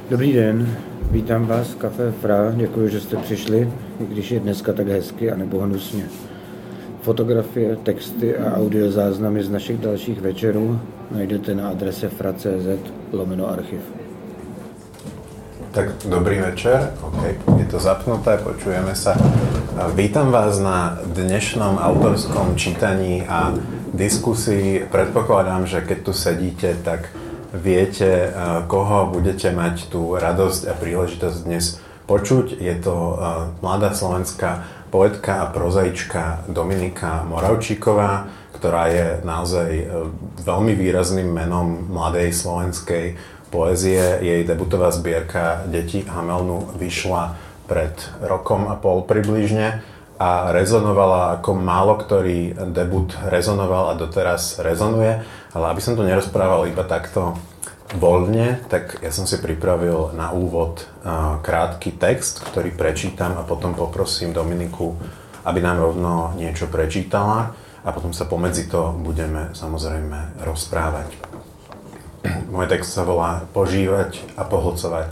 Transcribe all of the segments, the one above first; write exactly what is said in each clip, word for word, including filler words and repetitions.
Dobrý den, vítám vás v Café Fra, děkuji, že jste přišli, i když je dneska tak hezky a nebo hnusně. Fotografie, texty a audiozáznamy z našich dalších večerů najdete na adrese fra tečka cz lomeno archiv. Tak dobrý večer, OK, je to zapnuté, počujeme sa. Vítam vás na dnešnom autorskom čítaní a diskusii. Predpokladám, že keď tu sedíte, tak viete, koho budete mať tú radosť a príležitosť dnes počuť. Je to mladá slovenská poetka a prozaička Dominika Moravčíková, ktorá je naozaj veľmi výrazným menom mladej slovenskej poézie. Jej debutová zbierka Deti Hamelnu vyšla pred rokom a pol približne a rezonovala ako málo ktorý debut rezonoval a doteraz rezonuje. Ale aby som to nerozprával iba takto voľne, tak ja som si pripravil na úvod krátky text, ktorý prečítam a potom poprosím Dominiku, aby nám rovno niečo prečítala a potom sa pomedzi to budeme samozrejme rozprávať. Môj text sa volá Požívať a pohlcovať.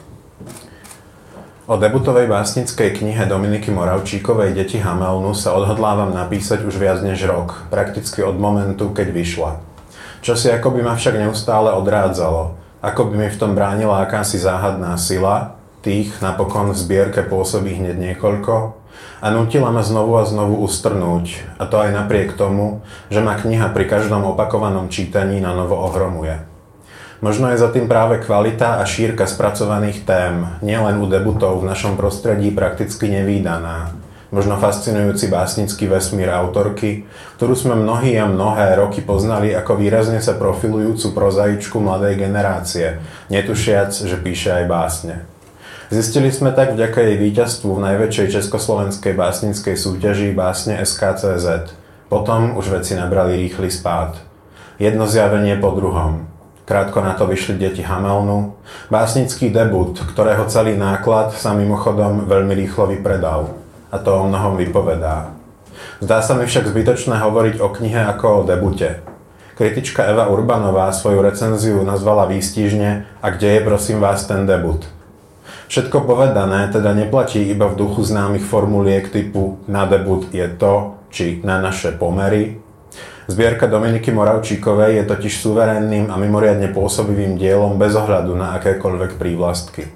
O debutovej básnickej knihe Dominiky Moravčíkovej Deti Hamelnu sa odhodlávam napísať už viac než rok, prakticky od momentu, keď vyšla. Čosi ako by ma však neustále odrádzalo, ako by mi v tom bránila akási záhadná sila, tých napokon v zbierke pôsobí hneď niekoľko, a nútila ma znovu a znovu ustrnúť, a to aj napriek tomu, že ma kniha pri každom opakovanom čítaní na novo ohromuje. Možno je za tým práve kvalita a šírka spracovaných tém, nielen u debutov v našom prostredí prakticky nevídaná. Možno fascinujúci básnický vesmír autorky, ktorú sme mnohí a mnohé roky poznali ako výrazne sa profilujúcu prozaičku mladej generácie, netušiac, že píše aj básne. Zistili sme tak vďaka jej víťazstvu v najväčšej československej básnickej súťaži Básne es ká cé zet. Potom už veci nabrali rýchly spád. Jedno zjavenie po druhom. Krátko na to vyšli Deti Hamelnu, básnický debut, ktorého celý náklad sa mimochodom veľmi rýchlo vypredal. A to o mnohom vypovedá. Zdá sa mi však zbytočné hovoriť o knihe ako o debute. Kritička Eva Urbanová svoju recenziu nazvala výstižne A kde je prosím vás ten debut? Všetko povedané teda neplatí iba v duchu známych formuliek typu na debut je to, či na naše pomery. Zbierka Dominiky Moravčíkovej je totiž suverénnym a mimoriadne pôsobivým dielom bez ohľadu na akékoľvek prívlastky.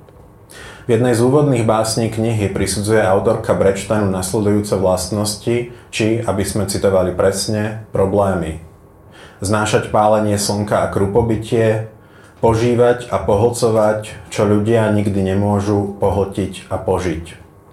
V jednej z úvodných básní knihy prisudzuje autorka Brečtanu nasledujúce vlastnosti, či, aby sme citovali presne, problémy. Znášať pálenie slnka a krupobytie, požívať a pohlcovať, čo ľudia nikdy nemôžu pohltiť a požiť.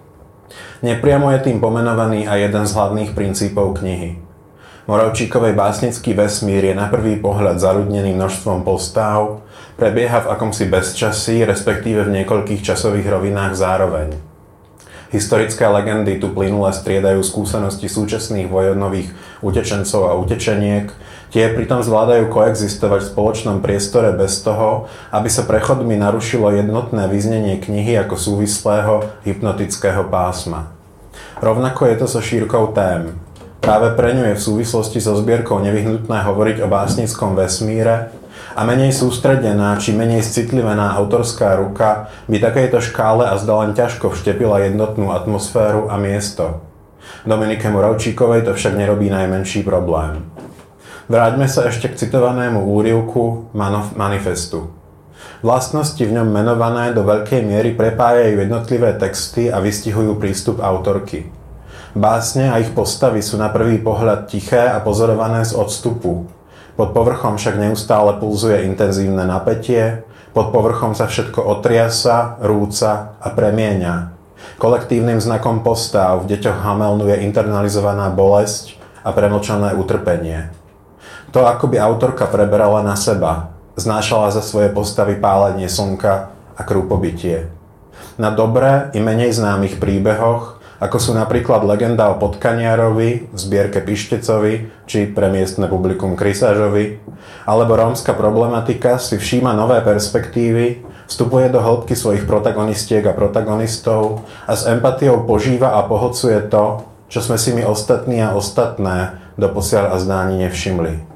Nepriamo je tým pomenovaný aj jeden z hlavných princípov knihy. Moravčíkovej básnický vesmír je na prvý pohľad zaľudnený množstvom postáv, prebieha v akomsi bezčasí, respektíve v niekoľkých časových rovinách zároveň. Historické legendy tu plynule striedajú skúsenosti súčasných vojnových utečencov a utečeniek, tie pritom zvládajú koexistovať v spoločnom priestore bez toho, aby sa prechodmi narušilo jednotné vyznenie knihy ako súvislého hypnotického pásma. Rovnako je to so šírkou tém. Práve pre ňu je v súvislosti so zbierkou nevyhnutné hovoriť o básnickom vesmíre a menej sústredená či menej citlivená autorská ruka by takejto škále a zda len ťažko vštepila jednotnú atmosféru a miesto. Dominike Moravčíkovej to však nerobí najmenší problém. Vráťme sa ešte k citovanému úryvku manifestu. Vlastnosti v ňom menované do veľkej miery prepájajú jednotlivé texty a vystihujú prístup autorky. Básne a ich postavy sú na prvý pohľad tiché a pozorované z odstupu. Pod povrchom však neustále pulzuje intenzívne napätie, pod povrchom sa všetko otriasa, rúca a premieňa. Kolektívnym znakom postáv v Deťoch Hamelnu je internalizovaná bolesť a premlčané utrpenie. To, ako by autorka preberala na seba, znášala za svoje postavy pálenie slnka a krúpobytie. Na dobré i menej známych príbehoch, ako sú napríklad legenda o Potkaniarovi v zbierke Pištecovi, či pre miestne publikum Krysážovi, alebo rómska problematika si všíma nové perspektívy, vstupuje do hĺbky svojich protagonistiek a protagonistov a s empatiou požíva a pohlcuje to, čo sme si my ostatní a ostatné doposiaľ a zdáni nevšimli.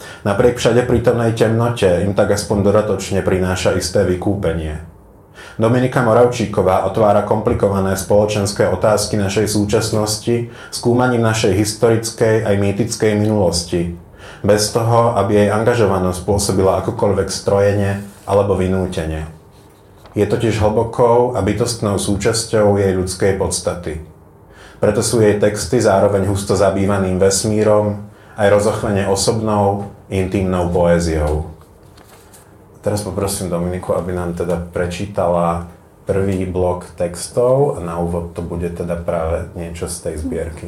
Napriek všade prítomnej temnote im tak aspoň dodatočne prináša isté vykúpenie. Dominika Moravčíková otvára komplikované spoločenské otázky našej súčasnosti skúmaním našej historickej aj mýtickej minulosti, bez toho, aby jej angažovanosť pôsobila akokoľvek strojene alebo vynútene. Je totiž hlbokou a bytostnou súčasťou jej ľudskej podstaty. Preto sú jej texty zároveň husto zabývaným vesmírom, aj rozochvene osobnou, intimnou poéziou. Teraz poprosím Dominiku, aby nám teda prečítala prvý blok textov a na úvod to bude teda práve niečo z tej zbierky.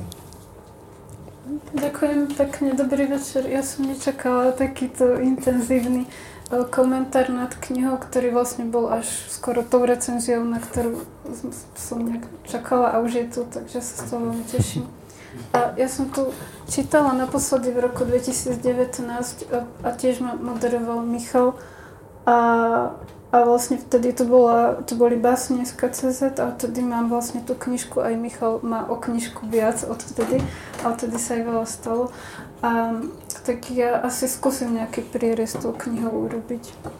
Ďakujem pekne, dobrý večer. Ja som nečakala takýto intenzívny komentár nad knihou, ktorý vlastne bol až skoro tou recenziou, na ktorú som nejak čakala a už je tu, takže sa z toho veľmi teším. A ja som tu čítala naposledy v roku dvetisíc devätnásť a, a tiež ma moderoval Michal a, a vlastne vtedy to, bola, to boli básne z ká cé zet a vtedy mám vlastne tú knižku, aj Michal má o knižku viac odtedy a odtedy sa aj veľa stalo. A, tak ja asi skúsim nejaký prierez tou knihou urobiť.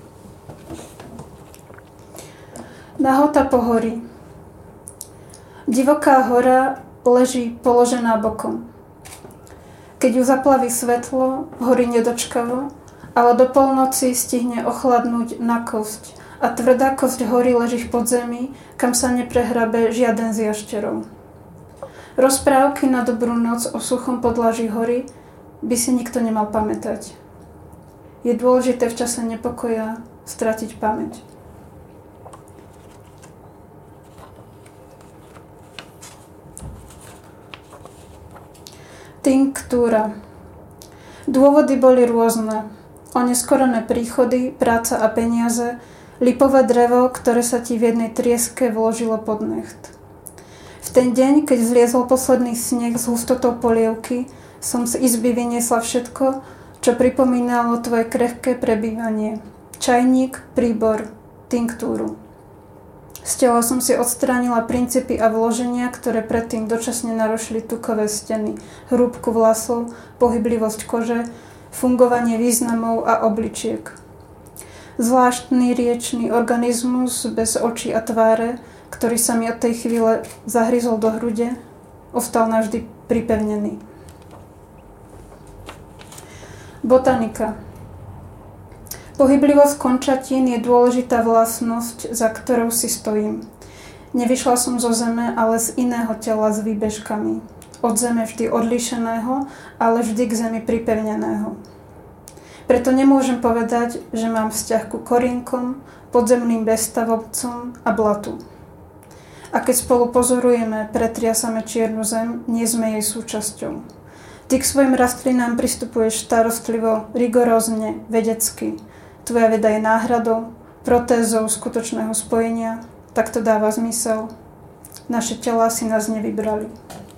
Nahota pohorí. Divoká hora leží položená bokom. Keď ju zaplaví svetlo, horí nedočkavo, ale do polnoci stihne ochladnúť na kosť a tvrdá kosť hory leží v podzemí, kam sa neprehrabe žiaden z jašterov. Rozprávky na dobrú noc o suchom podlaží hory by si nikto nemal pamätať. Je dôležité v čase nepokoja stratiť pamäť. Tinktúra. Dôvody boli rôzne. Oneskorené príchody, práca a peniaze, lipové drevo, ktoré sa ti v jednej trieske vložilo pod necht. V ten deň, keď zliezol posledný sneh s hustotou polievky, som z izby vyniesla všetko, čo pripomínalo tvoje krehké prebývanie. Čajník, príbor, tinktúru. Z tela som si odstránila princípy a vloženia, ktoré predtým dočasne narušili tukové steny, hrúbku vlasov, pohyblivosť kože, fungovanie významov a obličiek. Zvláštny riečný organizmus bez očí a tváre, ktorý sa mi od tej chvíle zahryzol do hrude, ostal navždy pripevnený. Botanika. Pohyblivosť končatín je dôležitá vlastnosť, za ktorou si stojím. Nevyšla som zo zeme, ale z iného tela s výbežkami. Od zeme vždy odlíšeného, ale vždy k zemi pripevneného. Preto nemôžem povedať, že mám vzťah ku korienkom, podzemným bezstavovcom a blatu. A keď spolu pozorujeme, pretriasame čiernu zem, nie sme jej súčasťou. Ty k svojim rastlinám pristupuješ starostlivo, rigorózne, vedecky. Tvoja veda je náhradou, protézou skutočného spojenia, tak to dáva zmysel. Naše telá si nás nevybrali.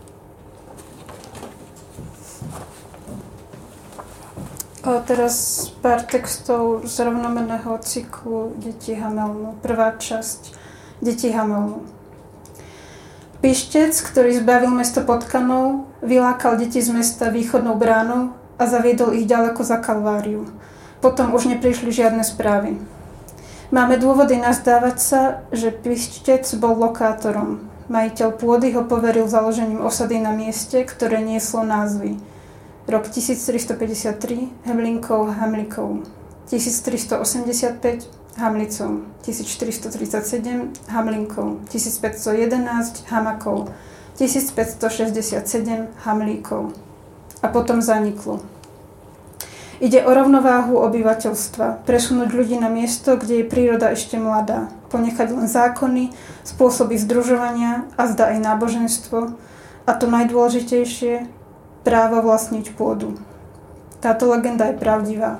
A teraz pár textov z rovnomenného cyklu Deti Hamelnu. Prvá časť Deti Hamelnu. Pištec, ktorý zbavil mesto potkanov, vylákal deti z mesta východnou bránou a zaviedol ich ďaleko za Kalváriu. Potom už neprišli žiadne správy. Máme dôvody nazdávať sa, že Pištec bol lokátorom. Majiteľ pôdy ho poveril založením osady na mieste, ktoré nieslo názvy. Rok tisíctristoosemdesiattri Hemlinkov Hamlikov, tisíctristoosemdesiatpäť Hamlicov, tisícštyristotridsaťsedem Hamlinkov, tisícpäťstojedenásť Hamakov, tisícpäťstošesťdesiatsedem Hamlíkov. A potom zaniklo. Ide o rovnováhu obyvateľstva, presunúť ľudí na miesto, kde je príroda ešte mladá, ponechať len zákony, spôsoby združovania a zda aj náboženstvo a to najdôležitejšie, právo vlastniť pôdu. Táto legenda je pravdivá.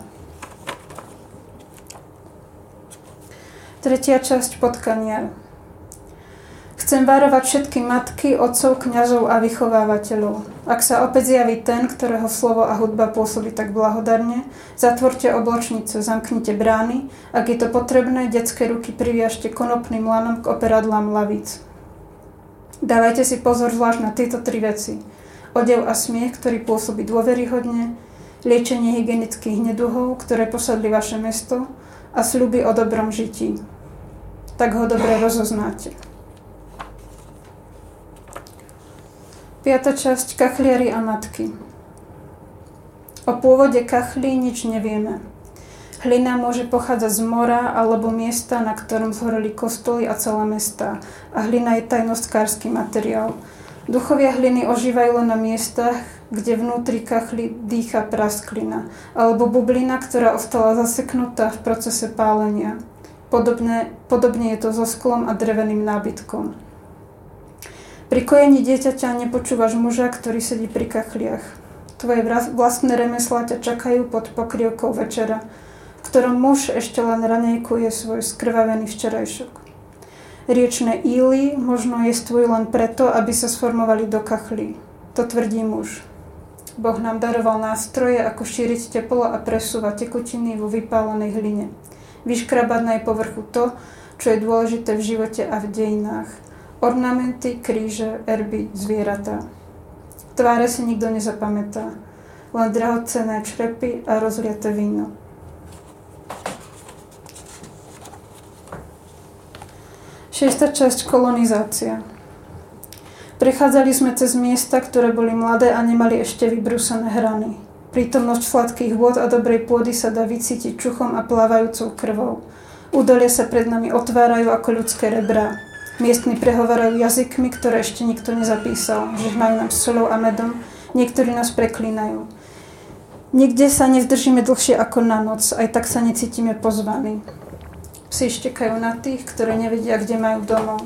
Tretia časť Potkaniar. Chcem varovať všetky matky, otcov, kňazov a vychovávateľov. Ak sa opäť zjaví ten, ktorého slovo a hudba pôsobí tak blahodarne, zatvorte obločnice, zamknite brány, ak je to potrebné, detské ruky priviažte konopným lanom k operadlám lavíc. Dávajte si pozor zvlášť na tieto tri veci. Odev a smiech, ktorý pôsobí dôveryhodne, liečenie hygienických neduhov, ktoré posadli vaše mesto a sľuby o dobrom žití. Tak ho dobre rozoznáte. Piata časť. Kachliari a matky. O pôvode kachlí nič nevieme. Hlina môže pochádzať z mora alebo miesta, na ktorom zhoreli kostoly a celé mestá. A hlina je tajnostkársky materiál. Duchovia hliny ožívajú len na miestach, kde vnútri kachly dýcha prasklina, alebo bublina, ktorá ostala zaseknutá v procese pálenia. Podobne, podobne je to so sklom a dreveným nábytkom. Pri kojení dieťaťa nepočúvaš muža, ktorý sedí pri kachliach. Tvoje vlastné remeslá ťa čakajú pod pokrievkou večera, v ktorom muž ešte len raňajkuje svoj skrvavený včerajšok. Riečne íly možno jestvujú len preto, aby sa sformovali do kachlí. To tvrdí muž. Boh nám daroval nástroje, ako šíriť teplo a presúvať tekutiny vo vypálenej hline. Vyškrabať na jej povrchu to, čo je dôležité v živote a v dejinách. Ornamenty, kríže, erby, zvieratá. Tváre si nikto nezapamätá, len drahocenné črepy a rozliate víno. Šiesta časť. Kolonizácia. Prechádzali sme cez miesta, ktoré boli mladé a nemali ešte vybrúsené hrany. Prítomnosť sladkých vôd a dobrej pôdy sa dá vycítiť čuchom a plávajúcou krvou. Údolia sa pred nami otvárajú ako ľudské rebrá. Miestni prehovárajú jazykmi, ktoré ešte nikto nezapísal, že majú nám soľou a medom, niektorí nás preklínajú. Nikde sa nezdržíme dlhšie ako na noc, aj tak sa necítime pozvaní. Psi štekajú na tých, ktorí nevedia, kde majú domov.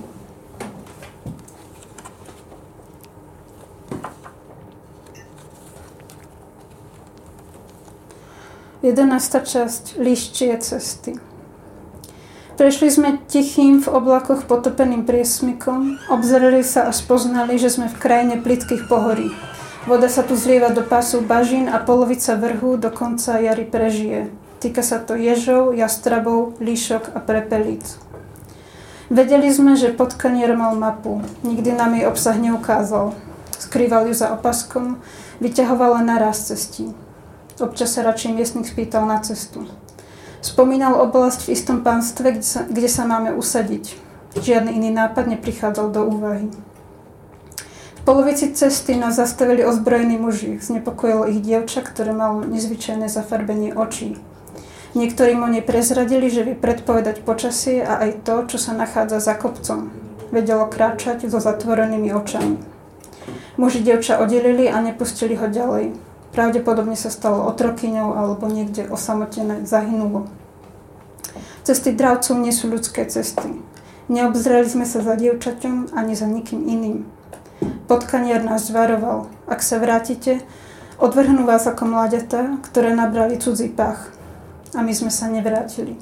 Jedenásta časť. Líščie cesty. Prešli sme tichým v oblakoch potopeným priesmykom, obzreli sa a spoznali, že sme v krajine plytkých pohorí. Voda sa tu zlieva do pásu bažín a polovica vrhu do konca jary prežije. Týka sa to ježov, jastrabov, líšok a prepelíc. Vedeli sme, že potkanier mal mapu. Nikdy nám jej obsah neukázal. Skrýval ju za opaskom, vyťahoval len naraz cestí. Občas sa radšej miestnych spýtal na cestu. Spomínal oblasť v istom pánstve, kde sa, kde sa máme usadiť. Žiadny iný nápad neprichádzal do úvahy. V polovici cesty nás zastavili ozbrojení muži. Znepokojilo ich dievča, ktoré malo nezvyčajné zafarbenie očí. Niektorí mu neprezradili, že vie predpovedať počasie a aj to, čo sa nachádza za kopcom. Vedelo kráčať so zatvorenými očami. Muži dievča oddelili a nepustili ho ďalej. Pravdepodobne sa stalo otrokyňou alebo niekde osamotené zahynulo. Cesty dravcov nie sú ľudské cesty. Neobzreli sme sa za dievčaťom ani za nikým iným. Potkanier nás varoval. Ak sa vrátite, odvrhnú vás ako mláďatá, ktoré nabrali cudzí pach. A my sme sa nevrátili.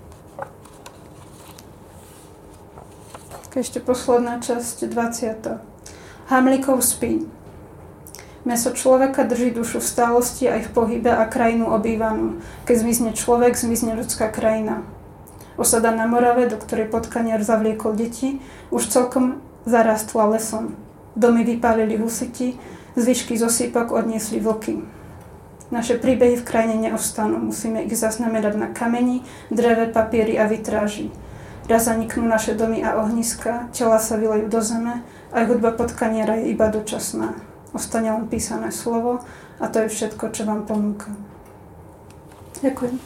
Ešte posledná časť, dvadsiata Hamlíkov spí. Mäso človeka drží dušu v stálosti aj v pohybe a krajinu obývanú. Keď zmizne človek, zmizne ľudská krajina. Osada na Morave, do ktorej potkanier zavliekol deti, už celkom zarástla lesom. Domy vypálili husiti, zvyšky z osýpok odniesli vlky. Naše príbehy v krajine neostanú, musíme ich zaznamenať na kameni, dreve, papieri a vitráži. Raz zaniknú naše domy a ohniska, tela sa vylejú do zeme, aj hudba potkaniera je iba dočasná. Ostane len písané slovo a to je všetko, čo vám ponúka. Ďakujem.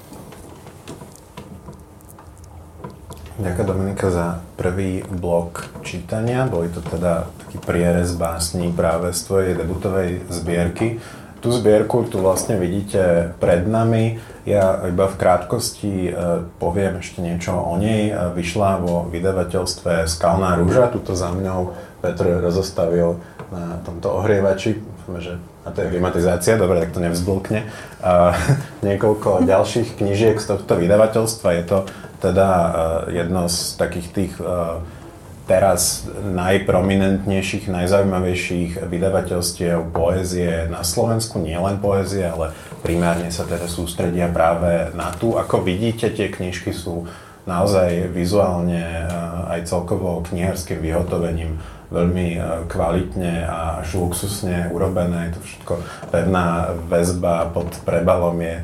Ďakujem, Dominika, za prvý blok čítania. Boli to teda taký prierez básní práve z tvojej debutovej zbierky. Tú zbierku tu vlastne vidíte pred nami. Ja iba v krátkosti poviem ešte niečo o nej. Vyšla vo vydavateľstve Skalná rúža. Tuto za mňou Petr rozostavil na tomto ohrievači, že a to je klimatizácia, dobre, tak to nevzblkne. Uh, niekoľko ďalších knížiek z tohto vydavateľstva. Je to teda uh, jedno z takých tých uh, teraz najprominentnejších, najzaujímavejších vydavateľstiev poézie na Slovensku. Nie len poézie, ale primárne sa teda sústredia práve na tú. Ako vidíte, tie knižky sú naozaj vizuálne aj celkovo knihárskym vyhotovením veľmi kvalitne a až luxusne urobené. Je to všetko pevná väzba, pod prebalom je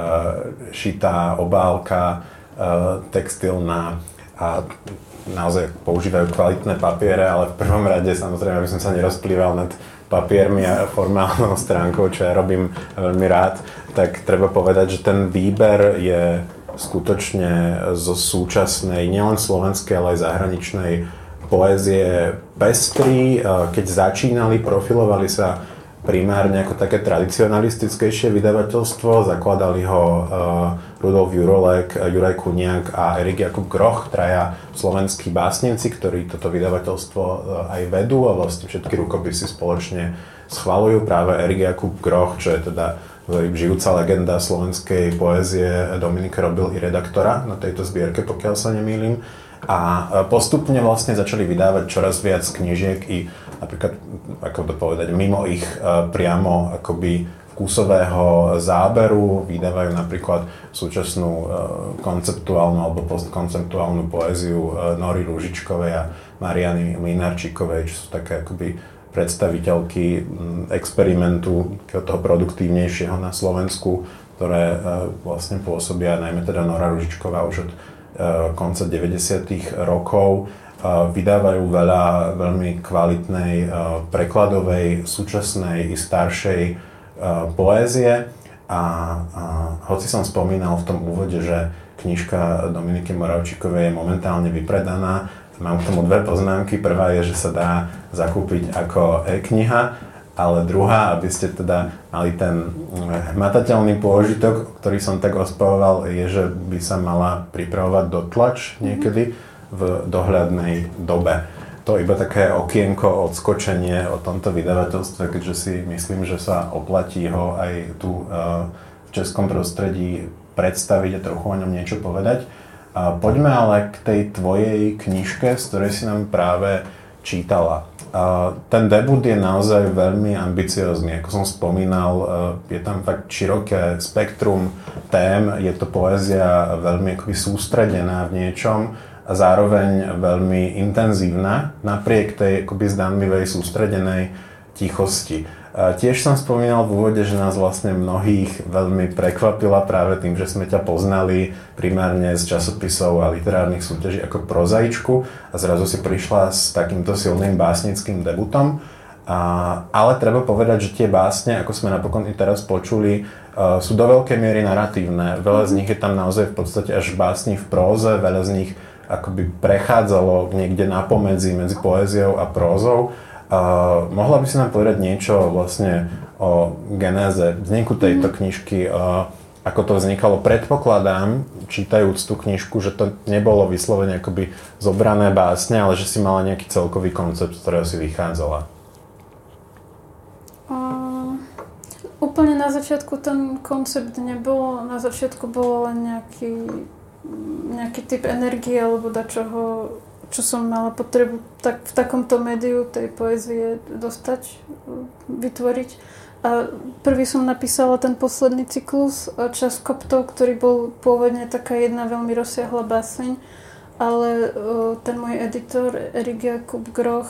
šitá obálka textilná a naozaj používajú kvalitné papiere, ale v prvom rade samozrejme, aby som sa nerozplýval nad papiermi a formálnou stránkou, čo ja robím veľmi rád, tak treba povedať, že ten výber je skutočne zo súčasnej, nielen slovenskej, ale aj zahraničnej poézie pestrý. Keď začínali, profilovali sa primárne ako také tradicionalistickejšie vydavateľstvo. Zakladali ho Rudolf Jurolek, Juraj Kuniak a Erik Jakub Groch, traja slovenskí básnici, ktorí toto vydavateľstvo aj vedú a vlastne všetky rukopisy spoločne schvaľujú. Práve Erik Jakub Groch, čo je teda žijúca legenda slovenskej poézie, Dominik robil i redaktora na tejto zbierke, pokiaľ sa nemýlim. A postupne vlastne začali vydávať čoraz viac knižiek i napríklad, ako to povedať, mimo ich priamo akoby vkusového záberu. Vydávajú napríklad súčasnú konceptuálnu alebo postkonceptuálnu poéziu Nory Rúžičkovej a Mariany Mlynarčíkovej, čo sú také akoby predstaviteľky experimentu toho produktívnejšieho na Slovensku, ktoré vlastne pôsobia, najmä teda Nora Rúžičková už od konca deväťdesiatych rokov. Vydávajú veľa veľmi kvalitnej prekladovej, súčasnej i staršej poézie a, a hoci som spomínal v tom úvode, že knižka Dominiky Moravčíkovej je momentálne vypredaná, mám k tomu dve poznámky. Prvá je, že sa dá zakúpiť ako e-kniha, ale druhá, aby ste teda mali ten hmatateľný pôžitok, ktorý som tak ospavoval, je, že by sa mala pripravovať dotlač niekedy v dohľadnej dobe. To iba také okienko, odskočenie o tomto vydavateľstve, keďže si myslím, že sa oplatí ho aj tu v českom prostredí predstaviť a trochu o ňom niečo povedať. Poďme ale k tej tvojej knižke, z ktorej si nám práve čítala. Ten debut je naozaj veľmi ambiciózny. Ako som spomínal, je tam fakt široké spektrum tém, je to poézia veľmi akoby sústredená v niečom a zároveň veľmi intenzívna, napriek tej akoby zdanlivej sústredenej tichosti. Tiež som spomínal v úvode, že nás vlastne mnohých veľmi prekvapila práve tým, že sme ťa poznali primárne z časopisov a literárnych súťaží ako prozaičku a zrazu si prišla s takýmto silným básnickým debutom. A, ale treba povedať, že tie básne, ako sme napokon i teraz počuli, uh, sú do veľkej miery naratívne. Veľa z nich je tam naozaj v podstate až básni v próze, veľa z nich akoby prechádzalo niekde na pomedzi medzi poéziou a prózou. Uh, mohla by si nám povedať niečo vlastne o genéze vzniku tejto knižky, uh, ako to vznikalo? Predpokladám, čítajúc tú knižku, že to nebolo vyslovene akoby zobrané básne, ale že si mala nejaký celkový koncept, z ktorého si vychádzala. Uh, úplne na začiatku ten koncept nebolo, na začiatku bolo len nejaký, nejaký typ energie alebo dačoho, čo som mala potrebu tak v takomto médiu tej poézie dostať, vytvoriť. A prvý som napísala ten posledný cyklus Čas koptov, ktorý bol pôvodne taká jedna veľmi rozsiahla báseň, ale ten môj editor Erik Jakub Groch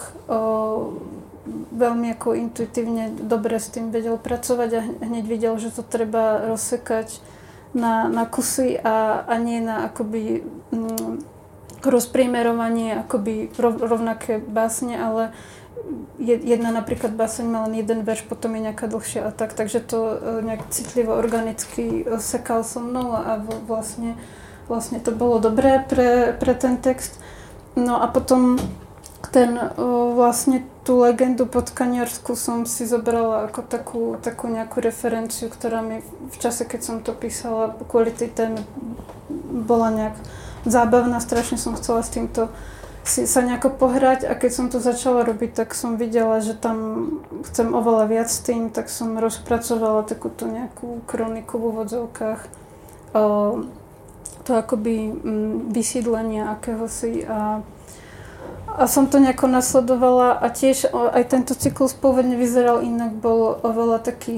veľmi ako intuitívne dobre s tým vedel pracovať a hneď videl, že to treba rozsekať na, na kusy a, a nie na akoby mm, rozprimerovanie akoby rovnaké básne, ale jedna napríklad báseň má len jeden verš, potom je nejaká dlhšia a tak, takže to nejak citlivo, organicky sekal so mnou a vlastne, vlastne to bolo dobré pre, pre ten text. No a potom ten vlastne tú legendu podkaniarsku som si zobrala ako takú, takú nejakú referenciu, ktorá mi v čase, keď som to písala, kvôli tej téme bola nejak zábavná, strašne som chcela s týmto si, sa nejako pohrať a keď som to začala robiť, tak som videla, že tam chcem oveľa viac s tým, tak som rozpracovala takúto nejakú kroniku v úvodzovkách o, to akoby m, vysídlenia akéhosi a, a som to nejako nasledovala a tiež o, aj tento cyklus pôvodne vyzeral inak, bol oveľa taký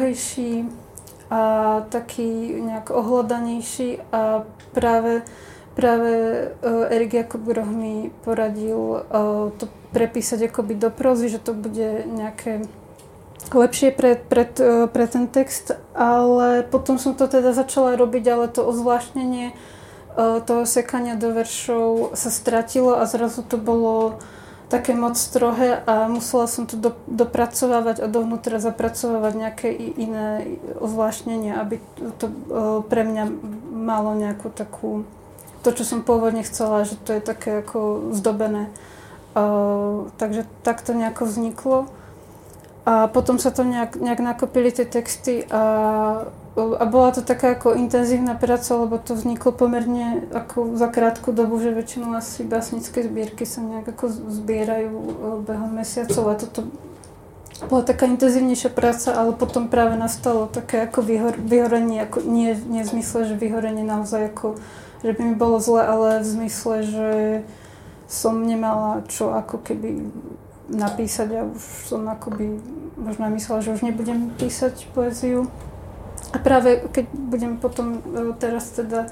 strohejší a taký nejak ohľadanejší a práve práve uh, Erik Jakub Groh mi poradil uh, to prepísať akoby do prózy, že to bude nejaké lepšie pre, pre, pre ten text, ale potom som to teda začala robiť, ale to ozvláštnenie uh, toho sekania do veršov sa stratilo a zrazu to bolo také moc strohé a musela som to do, dopracovávať a dovnútra zapracovávať nejaké iné ozvláštnenie, aby to uh, pre mňa malo nejakú takú, to, čo som pôvodne chcela, že to je také ako zdobené. Uh, takže tak to nejako vzniklo. A potom sa to nejak, nejak nakopili tie texty a, a bola to taká ako intenzívna práca, lebo to vzniklo pomerne ako za krátku dobu, že väčšinou asi básnické zbierky sa nejak ako zbierajú behom mesiacov a toto bola taká intenzívnejšia práca, ale potom práve nastalo také ako vyhor, vyhorenie, ako nie, nie v zmysle, že vyhorenie naozaj ako, že by mi bolo zle, ale v zmysle, že som nemala čo ako keby napísať a už som akoby možno myslela, že už nebudem písať poéziu. A práve keď budem potom teraz teda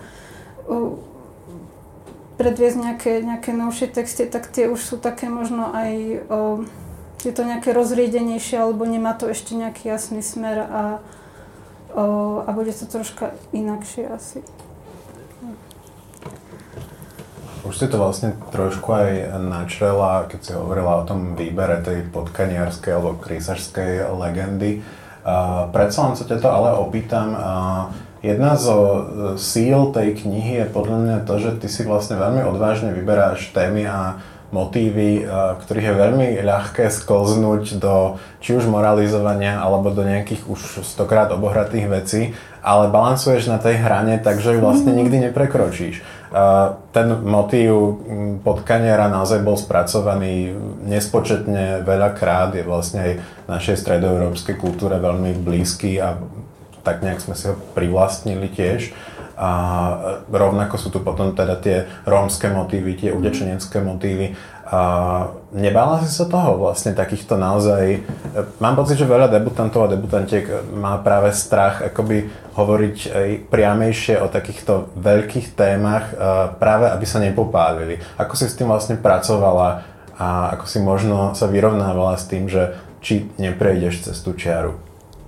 predviesť nejaké, nejaké novšie texty, tak tie už sú také možno aj je to nejaké rozriedenejšie, alebo nemá to ešte nejaký jasný smer a, a bude to troška inakšie asi. Už si to vlastne trošku aj načrela, keď si hovorila o tom výbere tej podkaniarskej alebo krísařskej legendy. Uh, predsa len sa ťa to ale opýtam. Uh, jedna zo síl tej knihy je podľa mňa to, že ty si vlastne veľmi odvážne vyberáš témy a motívy, uh, ktorých je veľmi ľahké sklznúť do či už moralizovania alebo do nejakých už stokrát obohratých vecí, ale balansuješ na tej hrane, takže ju vlastne nikdy neprekročíš. Ten motív potkaniara naozaj bol spracovaný nespočetne veľakrát, je vlastne aj našej stredoeurópskej kultúre veľmi blízky a tak nejak sme si ho privlastnili tiež. A rovnako sú tu potom teda tie rómske motívy, tie utečenecké motívy. A nebála si sa toho vlastne takýchto naozaj... Mám pocit, že veľa debutantov a debutantiek má práve strach akoby hovoriť aj priamejšie o takýchto veľkých témach, práve aby sa nepopálili. Ako si s tým vlastne pracovala a ako si možno sa vyrovnávala s tým, že či neprejdeš cez tú čiaru?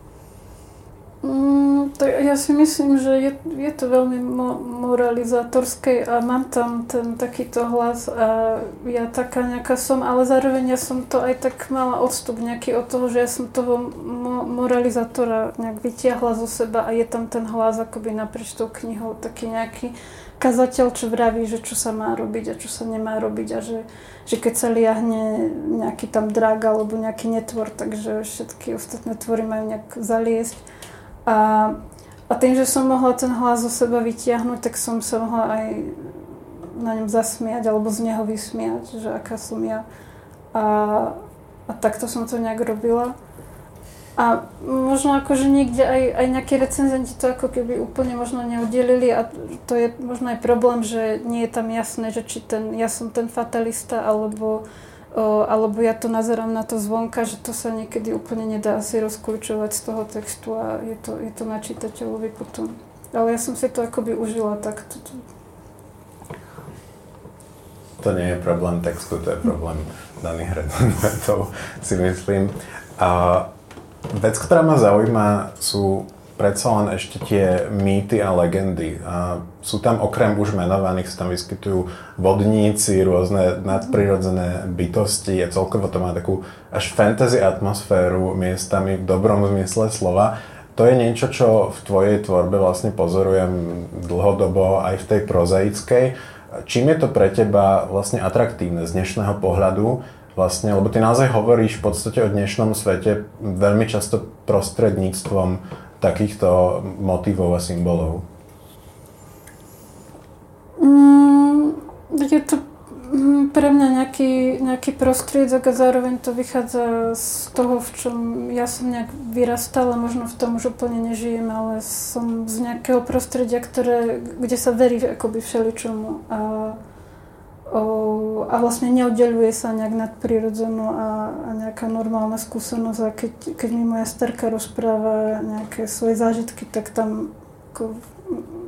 Mm, to ja si myslím, že je, je to veľmi mo- moralizátorské a mám tam ten takýto hlas a ja taká nejaká som, ale zároveň ja som to aj tak mala odstup nejaký od toho, že ja som toho mo- moralizátora nejak vytiahla zo seba a je tam ten hlas akoby naprieč tou knihou, taký nejaký kazateľ, čo vraví, že čo sa má robiť a čo sa nemá robiť a že, že keď sa liahne nejaký tam drak alebo nejaký netvor, takže všetky ostatné tvory majú nejak zaliesť. A, a tým, že som mohla ten hlas zo seba vytiahnuť, tak som sa mohla aj na ňom zasmiať alebo z neho vysmiať, že aká som ja. A, a takto som to nejak robila. A možno akože niekde aj, aj nejakí recenzenti to ako keby úplne možno neudelili a to je možno aj problém, že nie je tam jasné, že či ten, ja som ten fatalista alebo O, alebo ja to nazerám na to zvonka, že to sa niekedy úplne nedá asi rozkľúčovať z toho textu a je to, je to na čitateľovi potom. Ale ja som si to akoby užila takto. To nie je problém textu, to je problém daných recenzentov, si myslím. A vec, ktorá ma zaujíma, sú predsa len ešte tie mýty a legendy. A sú tam okrem už menovaných, sa tam vyskytujú vodníci, rôzne nadprirodzené bytosti a celkovo to má takú až fantasy atmosféru miestami v dobrom zmysle slova. To je niečo, čo v tvojej tvorbe vlastne pozorujem dlhodobo aj v tej prozaickej. Čím je to pre teba vlastne atraktívne z dnešného pohľadu? Vlastne, lebo ty naozaj hovoríš v podstate o dnešnom svete veľmi často prostredníctvom takýchto motívov a symbolov. Mm, je to pre mňa nejaký, nejaký prostriedok a zároveň to vychádza z toho, v čom ja som nejak vyrastala, možno v tom už úplne nežijem, ale som z nejakého prostredia, ktoré, kde sa verí akoby všeličomu a, o, a vlastne neoddeľuje sa nejak nadprirodzenú a, a nejaká normálna skúsenosť a keď, keď mi moja starka rozpráva nejaké svoje zážitky, tak tam ako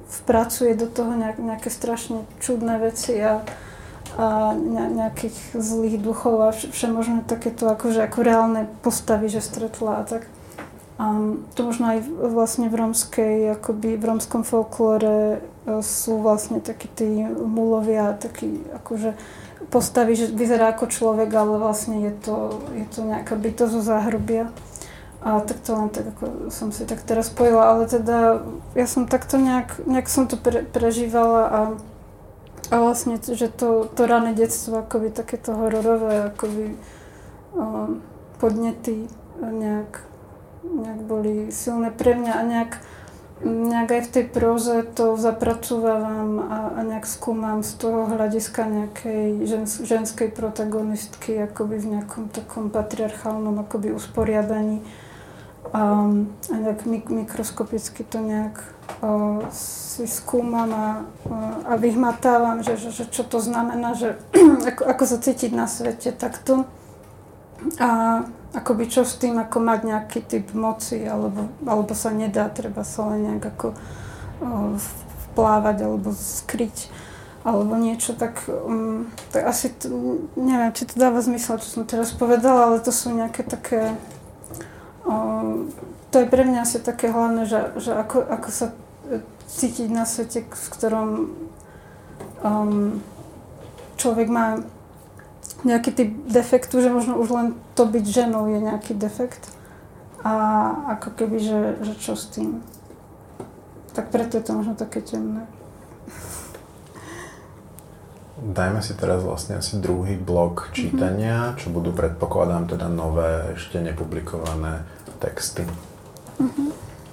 vpracuje do toho nejak, nejaké strašne čudné veci a, a nejakých zlých duchov a všemožné takéto akože ako reálne postavy, že stretla a tak. A to možno aj vlastne v rómskej, akoby v rómskom folklóre sú vlastne takí tí mulovia, takí akože postavy, že vyzerá ako človek, ale vlastne je to, je to nejaká bytosť zo záhrubia. A tak to len tak, ako som si tak teraz spojila, ale teda ja som takto nejak, nejak som to pre, prežívala a, a vlastne, že to, to rané detstvo, akoby takéto hororové, akoby um, podnety nejak nejak boli silné pre mňa a nejak, nejak aj v tej próze to zapracúvam a, a nejak skúmam z toho hľadiska nejakej žens, ženskej protagonistky akoby v nejakom takom patriarchálnom akoby usporiadaní a, a nejak mik, mikroskopicky to nejak o, si skúmam a, a vyhmatávam, že, že, že čo to znamená, že ako, ako sa cítiť na svete takto a akoby čo s tým, ako mať nejaký typ moci, alebo, alebo sa nedá, treba sa len nejak ako o, vplávať, alebo skryť, alebo niečo, tak, um, tak asi, t- neviem, či to dáva zmysel, čo som teraz povedala, ale to sú nejaké také, o, to je pre mňa asi také hlavné, že, že ako, ako sa cítiť na svete, v ktorom um, človek má nejaký typ defektu, že možno už len to byť ženou je nejaký defekt a ako keby, že, že čo s tým. Tak preto je to možno také temné. Dajme si teraz vlastne asi druhý blok čítania, mm-hmm. čo budú, predpokladám, teda nové, ešte nepublikované texty. Mm-hmm.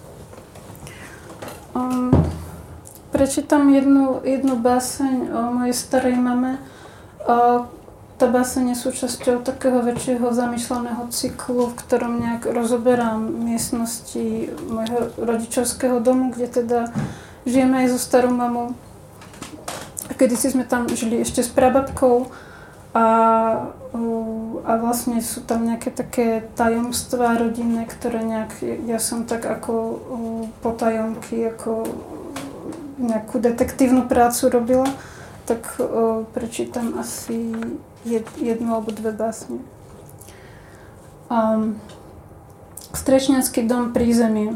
Um, prečítam jednu, jednu báseň o mojej starej mame. O, Tá báseň je súčasťou takého väčšieho zamýšľaného cyklu, v ktorom nejak rozoberám miestnosti môjho rodičovského domu, kde teda žijeme aj so starou mamou. A kedysi sme tam žili ešte s prababkou a, a vlastne sú tam nejaké také tajomstvá rodinné, ktoré nejak, ja som tak ako potajomky, ako nejakú detektívnu prácu robila, tak o, prečítam asi jednu alebo dve básne. Um, Strečňanský dom prízemie.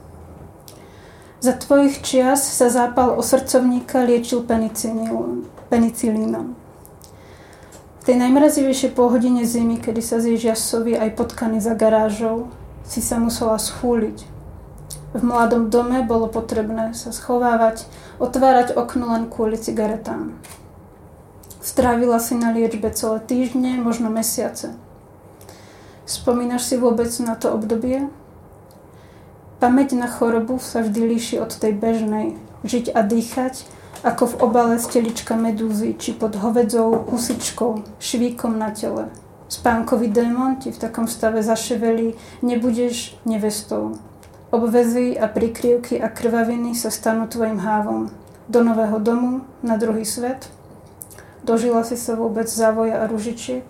Za tvojich čias sa zápal osrdcovníka liečil penicilínom. V tej najmrazivejšej polhodine zimy, kedy sa zježia sovy aj potkany za garážou, si sa musela schúliť. V mladom dome bolo potrebné sa schovávať, otvárať okno len kvôli cigaretám. Strávila si na liečbe celé týždne, možno mesiace. Spomínaš si vôbec na to obdobie? Pamäť na chorobu sa vždy líši od tej bežnej. Žiť a dýchať, ako v obale stelička medúzy, či pod hovedzou husičkou, švíkom na tele. Spánkový démon ti v takom stave zaševelí, nebudeš nevestou. Obvezy a prikryvky a krvaviny sa stanú tvojim hávom. Do nového domu, na druhý svet. Dožila si sa vôbec závoja a ružičiek?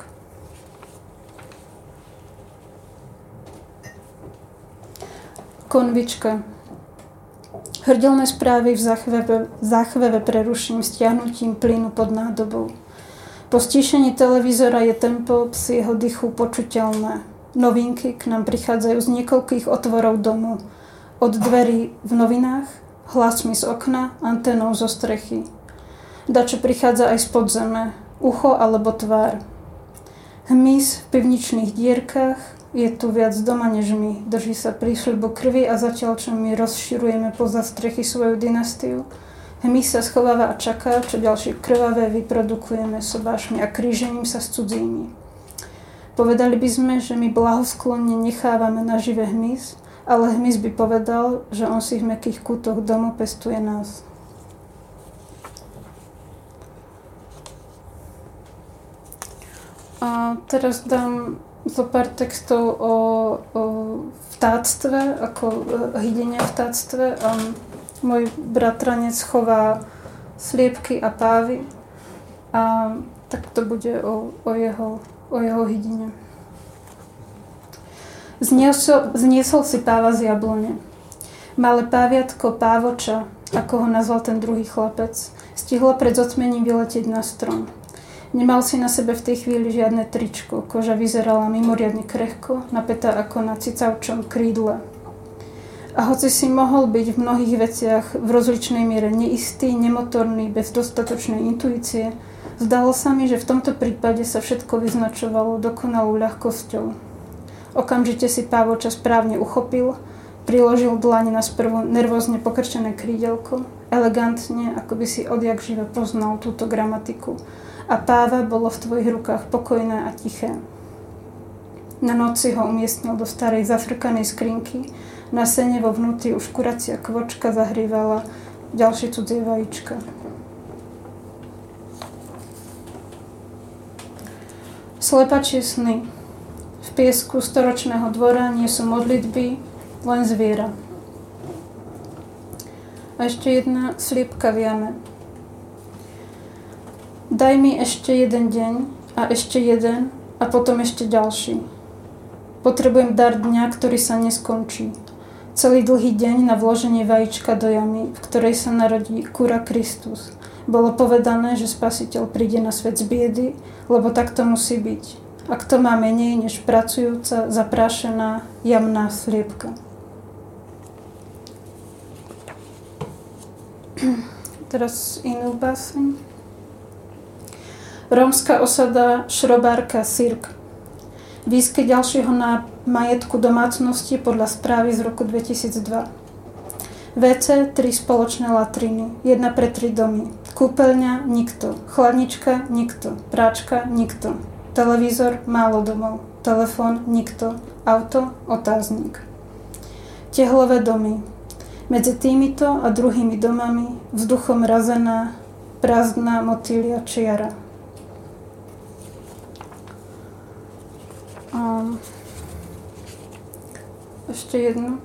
Konvička. Hrdelné správy v záchveve, záchveve preruším stiahnutím plynu pod nádobou. Po stíšení televízora je tempo psi jeho dychu počuteľné. Novinky k nám prichádzajú z niekoľkých otvorov domu. Od dverí v novinách, hlasmi z okna, anténou zo strechy. Dačo prichádza aj z podzeme, ucho alebo tvár. Hmyz v pivničných dierkach, je tu viac doma než my. Drží sa prísľubu krvi a zatiaľ, čo my rozširujeme poza strechy svoju dynastiu, hmyz sa schováva a čaká, čo ďalšie krvavé vyprodukujeme sobášmi a krížením sa s cudzími. Povedali by sme, že my blahosklonne nechávame nažive hmyz, ale hmyz by povedal, že on si v mäkkých kútoch domu pestuje nás. A teraz dám zo pár textov o, o vtáctve, ako hydenie v vtáctve. A môj bratranec chová sliepky a pávy. A tak to bude o, o, jeho, o jeho hydine. Zniesol, zniesol si páva z jablone. Malé páviatko pávoča ako ho nazval ten druhý chlapec, stihlo pred zotmením vyletieť na strom. Nemal si na sebe v tej chvíli žiadne tričko, koža vyzerala mimoriadne krehko, napätá ako na cicavčom krídle. A hoci si mohol byť v mnohých veciach v rozličnej miere neistý, nemotorný, bez dostatočnej intuície, zdalo sa mi, že v tomto prípade sa všetko vyznačovalo dokonalou ľahkosťou. Okamžite si Pávoča správne uchopil, priložil dlane na sprvu nervózne pokrčené krídelko, elegantne, ako by si odjak živa poznal túto gramatiku. A Páva bolo v tvojich rukách pokojné a tiché. Na noci ho umiestnil do starej zafrkanej skrinky, na sene vo vnútri už kuracia kvočka zahrievala ďalšie cudzie vajíčka. Slepačie sny. V piesku storočného dvora nie sú modlitby, len zviera. A ešte jedna sliepka v jame. Daj mi ešte jeden deň a ešte jeden a potom ešte ďalší. Potrebujem dar dňa, ktorý sa neskončí. Celý dlhý deň na vloženie vajíčka do jamy, v ktorej sa narodí kura Kristus. Bolo povedané, že Spasiteľ príde na svet z biedy, lebo tak to musí byť. A kto má menej než pracujúca, zaprášená, jamná sliepka. Teraz inú báseň. Rómska osada Šrobárka Sirk. Výsky ďalšieho na majetku domácnosti podľa správy z roku dvetisícdva. vé cé, tri spoločné latriny, jedna pre tri domy. Kúpeľňa, nikto. Chladnička, nikto. Práčka, nikto. Televízor, málo domov. Telefón, nikto. Auto, otáznik. Tehlové domy. Medzi týmito a druhými domami vzduchom razená, prázdna motýlia čiara. Um, ešte jedno.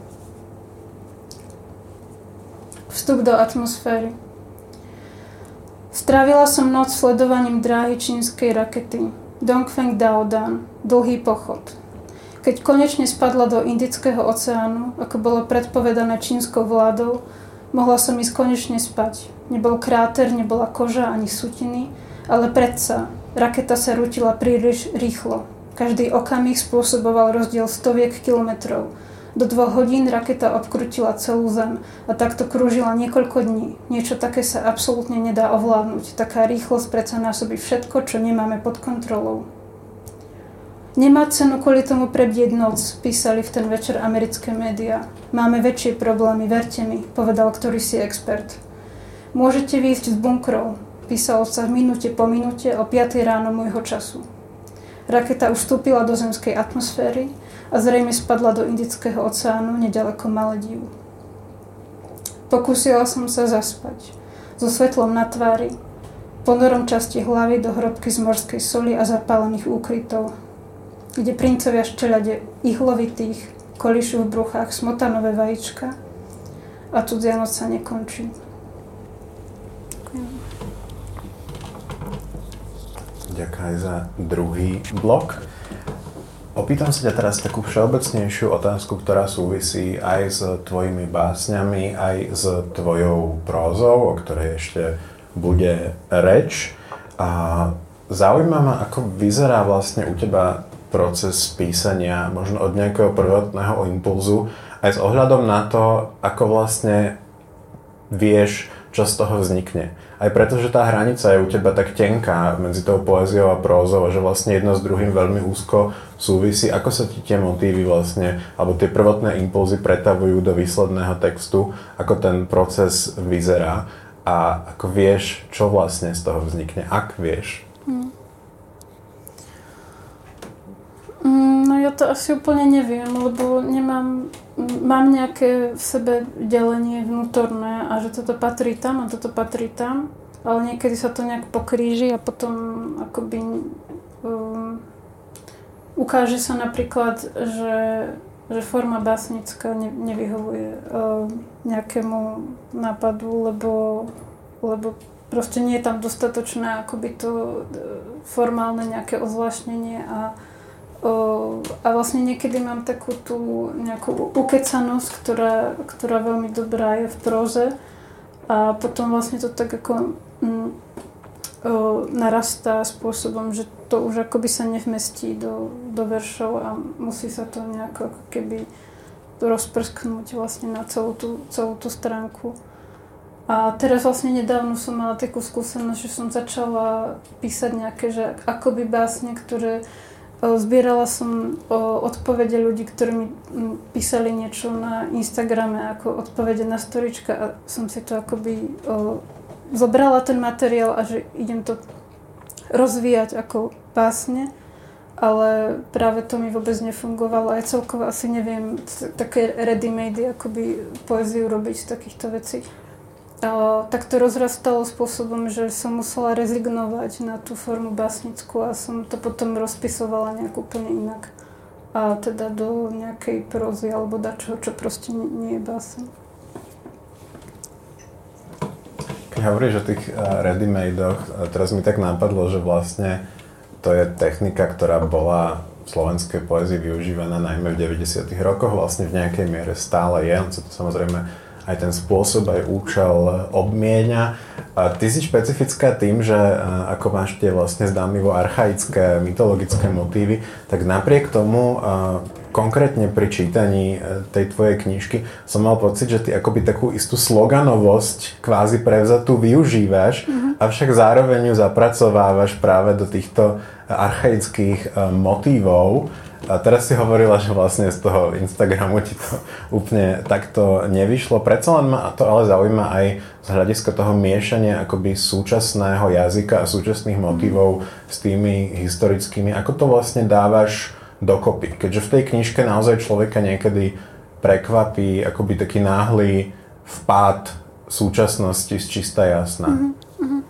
Vstup do atmosféry. Strávila som noc sledovaním dráhy čínskej rakety Dongfeng Daodan, dlhý pochod. Keď konečne spadla do Indického oceánu, ako bolo predpovedané čínskou vládou, mohla som ísť konečne spať. Nebol kráter, nebola koža ani sutiny, ale predsa raketa sa rútila príliš rýchlo. Každý okamih spôsoboval rozdiel stoviek kilometrov. Do dvoch hodín raketa obkrutila celú Zem a takto krúžila niekoľko dní. Niečo také sa absolútne nedá ovládnuť. Taká rýchlosť predsa násobí všetko, čo nemáme pod kontrolou. Nemá cenu kvôli tomu prebdieť noc, písali v ten večer americké médiá. Máme väčšie problémy, verte mi, povedal ktorýsi expert. Môžete výjsť z bunkrov, písalo sa v minúte po minúte o piatej ráno môjho času. Raketa už vstúpila do zemskej atmosféry a zrejme spadla do Indického oceánu nedaleko Maledív. Pokúsila som sa zaspať. So svetlom na tvári, ponorom časti hlavy do hrobky z morskej soli a zapálených úkrytov, kde princovia ščeľade ihlovitých kolíšu v bruchách smotanové vajíčka a cudzia noc sa nekončí. Ďakujem aj za druhý blok. Opýtam sa ťa teraz takú všeobecnejšiu otázku, ktorá súvisí aj s tvojimi básňami, aj s tvojou prózou, o ktorej ešte bude reč. A zaujíma ma, ako vyzerá vlastne u teba proces písania, možno od nejakého prvotného impulzu, aj s ohľadom na to, ako vlastne vieš, čo z toho vznikne. Aj preto, že tá hranica je u teba tak tenká medzi tou poéziou a prózou, že vlastne jedno s druhým veľmi úzko súvisí. Ako sa ti tie motívy vlastne, alebo tie prvotné impulzy pretavujú do výsledného textu, ako ten proces vyzerá a ako vieš, čo vlastne z toho vznikne, ak vieš. Hmm. No ja to asi úplne neviem, lebo nemám, mám nejaké v sebe delenie vnútorné a že toto patrí tam a toto patrí tam, ale niekedy sa to nejak pokríži a potom akoby um, ukáže sa napríklad, že, že forma básnická ne, nevyhovuje um, nejakému nápadu, lebo, lebo proste nie je tam dostatočné akoby to formálne nejaké ozvláštnenie a a vlastne niekedy mám takú tú nejakú ukecanosť, ktorá, ktorá veľmi dobrá je v próze A potom vlastne to tak ako mm, o, narastá spôsobom, že to už akoby sa nevmestí do, do veršov a musí sa to nejako ako keby rozprsknúť vlastne na celú tú, celú tú stránku. A teraz vlastne nedávno som mala takú skúsenosť, že som začala písať nejaké, že akoby básne, ktoré o, zbierala som o, odpovede ľudí, ktorí mi m, písali niečo na Instagrame ako odpovede na storička a som si to akoby o, zobrala ten materiál a že idem to rozvíjať ako básne, ale práve to mi vôbec nefungovalo. Ja celkovo asi neviem také ready-made akoby poéziu robiť z takýchto vecí. A tak to rozrastalo spôsobom, že som musela rezignovať na tú formu básnickú a som to potom rozpisovala nejak úplne inak. A teda do nejakej prózy alebo dačoho, čo proste nie, nie je báseň. Keď hovoríš o tých ready-madoch, teraz mi tak napadlo, že vlastne to je technika, ktorá bola v slovenskej poézii využívaná najmä v deväťdesiatych rokoch, vlastne v nejakej miere stále je, on sa to samozrejme aj ten spôsob, aj účel obmienia. A ty si špecifická tým, že ako máš tie vlastne zdanlivo archaické, mytologické motívy, tak napriek tomu konkrétne pri čítaní tej tvojej knižky som mal pocit, že ty akoby takú istú sloganovosť kvázi prevzatú využívaš, mm-hmm. avšak zároveň ju zapracovávaš práve do týchto archaických motívov. A teraz si hovorila, že vlastne z toho Instagramu ti to úplne takto nevyšlo. Predsa len ma to ale zaujíma aj z hľadiska toho miešania akoby súčasného jazyka a súčasných motívov s tými historickými. Ako to vlastne dávaš dokopy? Keďže v tej knižke naozaj človeka niekedy prekvapí akoby taký náhly vpád súčasnosti z čista jasna. Mm-hmm.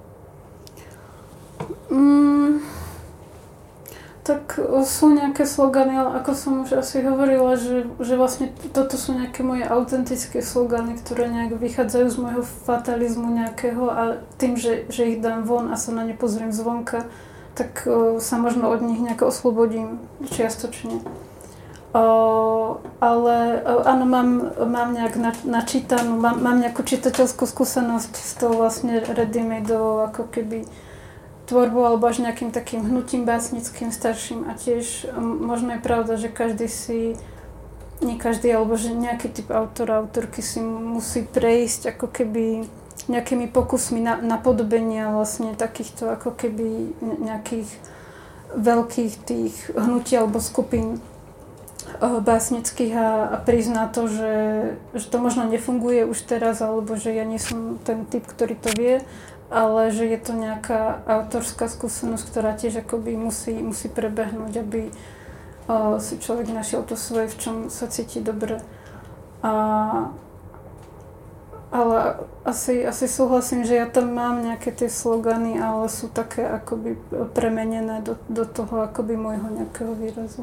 Mm. Tak sú nejaké slogany, ale ako som už asi hovorila, že, že vlastne toto sú nejaké moje autentické slogany, ktoré nejak vychádzajú z môjho fatalizmu nejakého a tým, že, že ich dám von a sa na ne pozriem zvonka, tak o, sa možno od nich nejako oslobodím čiastočne. O, ale o, áno, mám, mám nejak na, načítanú, mám, mám nejakú čitateľskú skúsenosť s tou vlastne ready-madeovou ako keby tvorbou alebo až nejakým takým hnutím básnickým starším a tiež možno je pravda, že každý si, nie každý, alebo že nejaký typ autora, autorky si musí prejsť ako keby nejakými pokusmi na, napodobenia vlastne takýchto ako keby nejakých veľkých tých hnutí alebo skupín básnických a, a prizná to, že, že to možno nefunguje už teraz alebo že ja nie som ten typ, ktorý to vie, ale že je to nejaká autorská skúsenosť, ktorá tiež akoby musí, musí prebehnúť, aby uh, si človek našiel to svoje, v čom sa cíti dobre. A, ale asi, asi súhlasím, že ja tam mám nejaké tie slogany, ale sú také akoby premenené do, do toho akoby môjho nejakého výrazu.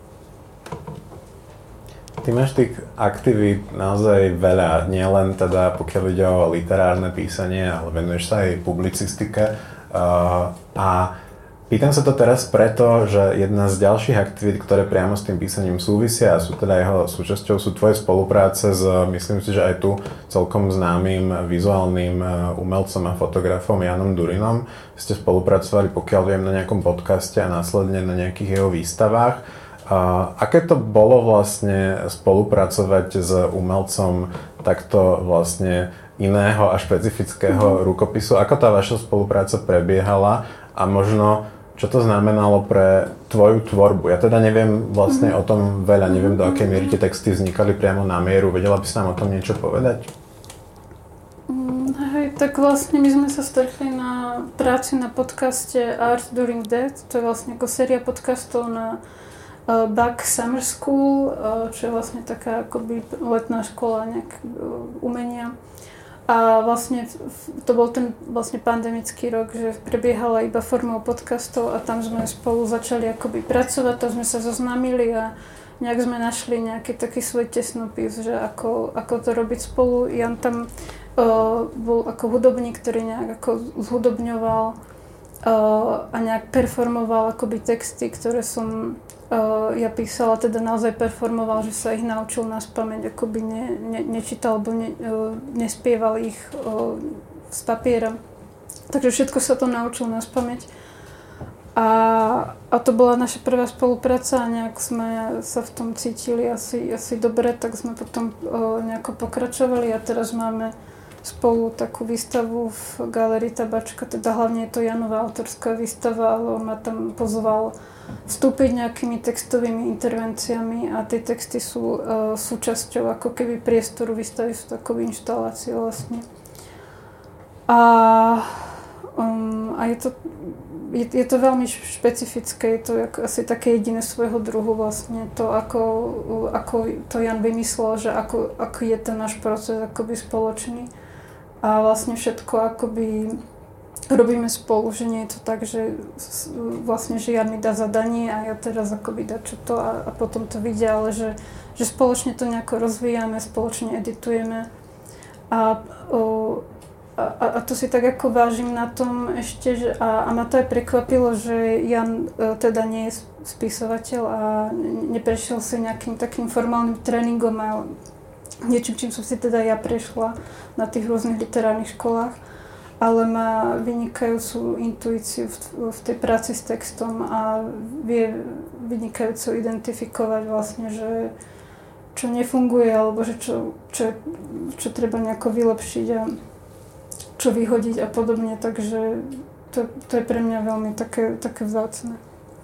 Ty máš tých aktivít naozaj veľa, nielen teda pokiaľ ide o literárne písanie, ale venuješ sa aj publicistike. Uh, a pýtam sa to teraz preto, že jedna z ďalších aktivít, ktoré priamo s tým písaním súvisia a sú teda jeho súčasťou, sú tvoje spolupráce s, myslím si, že aj tu celkom známym vizuálnym umelcom a fotografom Janom Durinom. Ste spolupracovali, pokiaľ viem, na nejakom podcaste a následne na nejakých jeho výstavách. A aké to bolo vlastne spolupracovať s umelcom takto vlastne iného a špecifického mm. rukopisu? Ako tá vaša spolupráca prebiehala a možno čo to znamenalo pre tvoju tvorbu? Ja teda neviem vlastne mm. o tom veľa, neviem do akej miery tie texty vznikali priamo na mieru. Vedela by si nám o tom niečo povedať? Mm, hej, tak vlastne my sme sa stretli na práci na podcaste Art During Death. To je vlastne ako séria podcastov na Uh, Back Summer School, uh, čo je vlastne taká akoby letná škola nejak uh, umenia. A vlastne to bol ten vlastne pandemický rok, že prebiehala iba formou podcastov a tam sme spolu začali akoby pracovať, to sme sa zoznámili a nejak sme našli nejaký taký svoj tesnopis, že ako, ako to robiť spolu. Jan tam uh, bol ako hudobník, ktorý nejak ako zhudobňoval uh, a nejak performoval akoby texty, ktoré som uh, ja písala, teda naozaj performoval, že sa ich naučil naspamäť, akoby ne, ne, nečítal alebo ne, uh, nespieval ich uh, z papiera. Takže všetko sa to naučil naspamäť. A, a to bola naša prvá spolupráca a nejak sme sa v tom cítili asi, asi dobre, tak sme potom uh, nejako pokračovali a teraz máme spolu takú výstavu v Galérii Tabačka, teda hlavne je to Janova autorská výstava, ale on ma tam pozval vstúpiť nejakými textovými intervenciami a tie texty sú uh, súčasťou ako keby priestoru výstavy, sú takou inštaláciou vlastne. A, um, a je to je, je to veľmi špecifické, je to ako, asi také jediné svojho druhu vlastne to, ako, ako to Jan vymyslel, že ako, ako je ten náš proces akoby spoločný. A vlastne všetko akoby robíme spolu, že nie je to tak, že vlastne, že Jan mi dá zadanie a ja teraz akoby dá čo to a, a potom to vidia, ale že, že spoločne to nejako rozvíjame, spoločne editujeme. A, o, a, a to si tak ako vážim na tom ešte, že, a, a ma to aj prekvapilo, že Jan e, teda nie je spisovateľ a neprešiel si nejakým takým formálnym tréningom a niečím, čím som si teda ja prešla na tých rôznych literárnych školách, ale má vynikajúcu intuíciu v, v tej práci s textom a vie vynikajúco identifikovať vlastne, že čo nefunguje, alebo že čo, čo, čo treba nejako vylepšiť a čo vyhodiť a podobne, takže to, to je pre mňa veľmi také, také vzácne.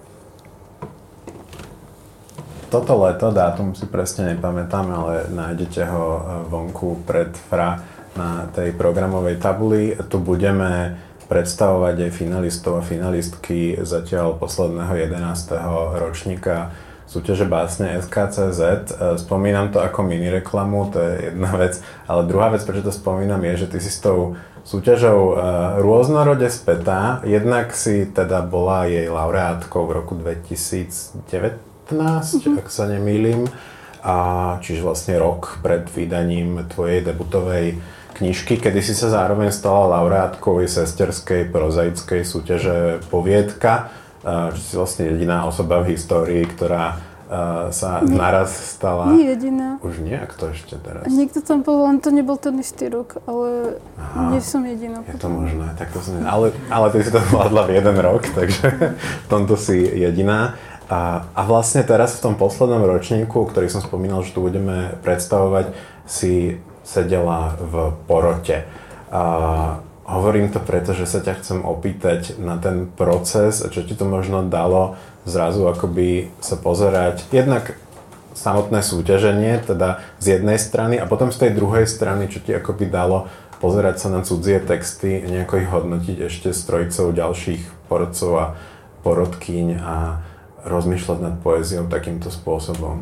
Toto leto, dátum si presne nepamätám, ale nájdete ho vonku pred Fra na tej programovej tabuli. Tu budeme predstavovať aj finalistov a finalistky zatiaľ posledného jedenásteho ročníka súťaže básne es ká cé zet. Spomínam to ako mini reklamu, to je jedna vec, ale druhá vec, prečo to spomínam, je, že ty si s tou súťažou rôznorode spätá. Jednak si teda bola jej laureátkou v roku dvetisícdevätnásť, mm-hmm. ak sa nemýlim, a čiže vlastne rok pred vydaním tvojej debutovej knižky, kedy si sa zároveň stala laureátkou jej sesterskej prozaickej súťaže Poviedka, že si vlastne jediná osoba v histórii, ktorá uh, sa nie, naraz stala... Nie jediná. Už nie? A kto ešte teraz? Niekto tam bol, len to nebol ten istý rok, ale Aha, nie som jediná. Je to možné, tak to som... Ale, ale ty si to zvládla v jeden rok, takže v tomto si jediná. A, a vlastne teraz v tom poslednom ročníku, ktorý som spomínal, že tu budeme predstavovať, si sedela v porote. A hovorím to preto, že sa ťa chcem opýtať na ten proces, čo ti to možno dalo zrazu akoby sa pozerať jednak samotné súťaženie, teda z jednej strany a potom z tej druhej strany, čo ti akoby dalo pozerať sa na cudzie texty, nejako ich hodnotiť ešte s trojicou ďalších porodcov a porodkyň a rozmýšľať nad poéziou takýmto spôsobom.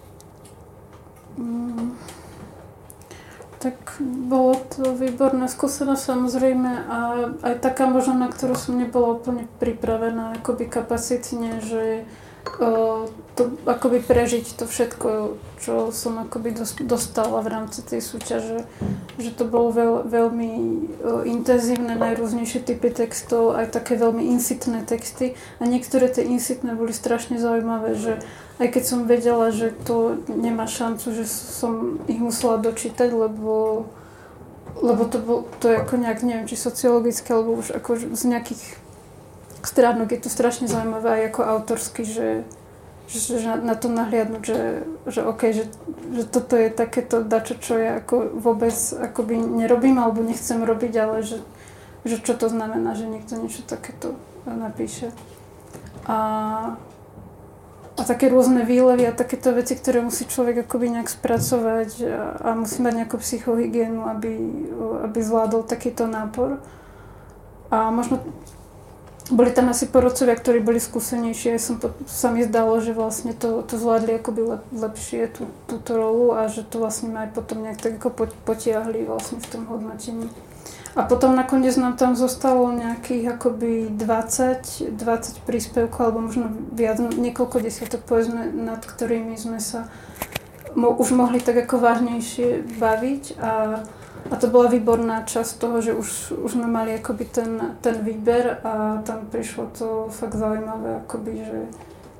Mm. Tak bolo to výborná skúsenosť samozrejme a aj taká možno, na ktorú som nebola úplne pripravená akoby kapacitne, že o, to akoby prežiť to všetko, čo som akoby dostala v rámci tej súťaže, že to bolo veľ, veľmi o, intenzívne, najrôznejšie typy textov, aj také veľmi insitné texty a niektoré tie insitné boli strašne zaujímavé, že aj keď som vedela, že to nemá šancu, že som ich musela dočítať, lebo, lebo to, bol, to je ako nejak, neviem, či sociologické, alebo už ako z nejakých stránok je to strašne zaujímavé aj ako autorsky, že, že, že na to nahliadnúť, že, že OK, že, že toto je takéto dačo, čo ja ako vôbec akoby nerobím alebo nechcem robiť, ale že, že čo to znamená, že niekto niečo takéto napíše. A A také rôzne výlevy a takéto veci, ktoré musí človek akoby nejak spracovať a, a musí mať nejakú psychohygienu, aby, aby zvládol takýto nápor. A možno boli tam asi porodcovia, ktorí boli skúsenejší, aj som, sa mi zdalo, že vlastne to, to zvládli akoby lep, lepšie tú, túto rolu a že to vlastne ma aj potom nejak tak ako potiahli vlastne v tom hodnotení. A potom nakoniec nám tam zostalo nejakých akoby dvadsať, dvadsať príspevkov, alebo možno viac, niekoľko desiatok povedzme, nad ktorými sme sa mo- už mohli tak ako vážnejšie baviť. A, a to bola výborná časť toho, že už, už sme mali akoby ten, ten výber a tam prišlo to fakt zaujímavé, akoby, že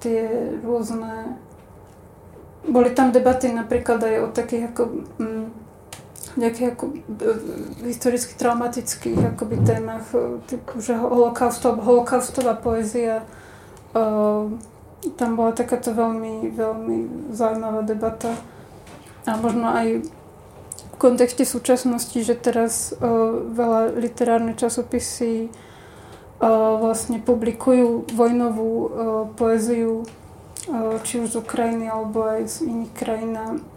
tie rôzne... Boli tam debaty napríklad aj o takých ako... Mm, nejakých ako, e, historicky traumatických akoby témach, typu, že holokaustov, holokaustová poézia. E, tam bola takáto veľmi, veľmi zaujímavá debata. A možno aj v kontexte súčasnosti, že teraz e, veľa literárne časopisy e, vlastne publikujú vojnovú e, poéziu, e, či už z Ukrajiny alebo aj z iných krajín.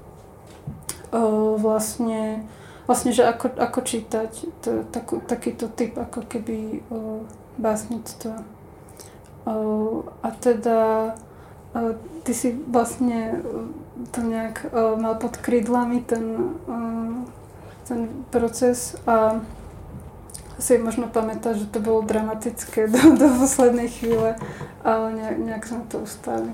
Vlastne, vlastne, že ako, ako čítať to, takú, takýto typ ako keby o, básnictva. O, a teda o, ty si vlastne to nejak o, mal pod krídlami ten, o, ten proces a si možno pamätáš, že to bolo dramatické do, do poslednej chvíle, ale nejak, nejak sme to ustáli.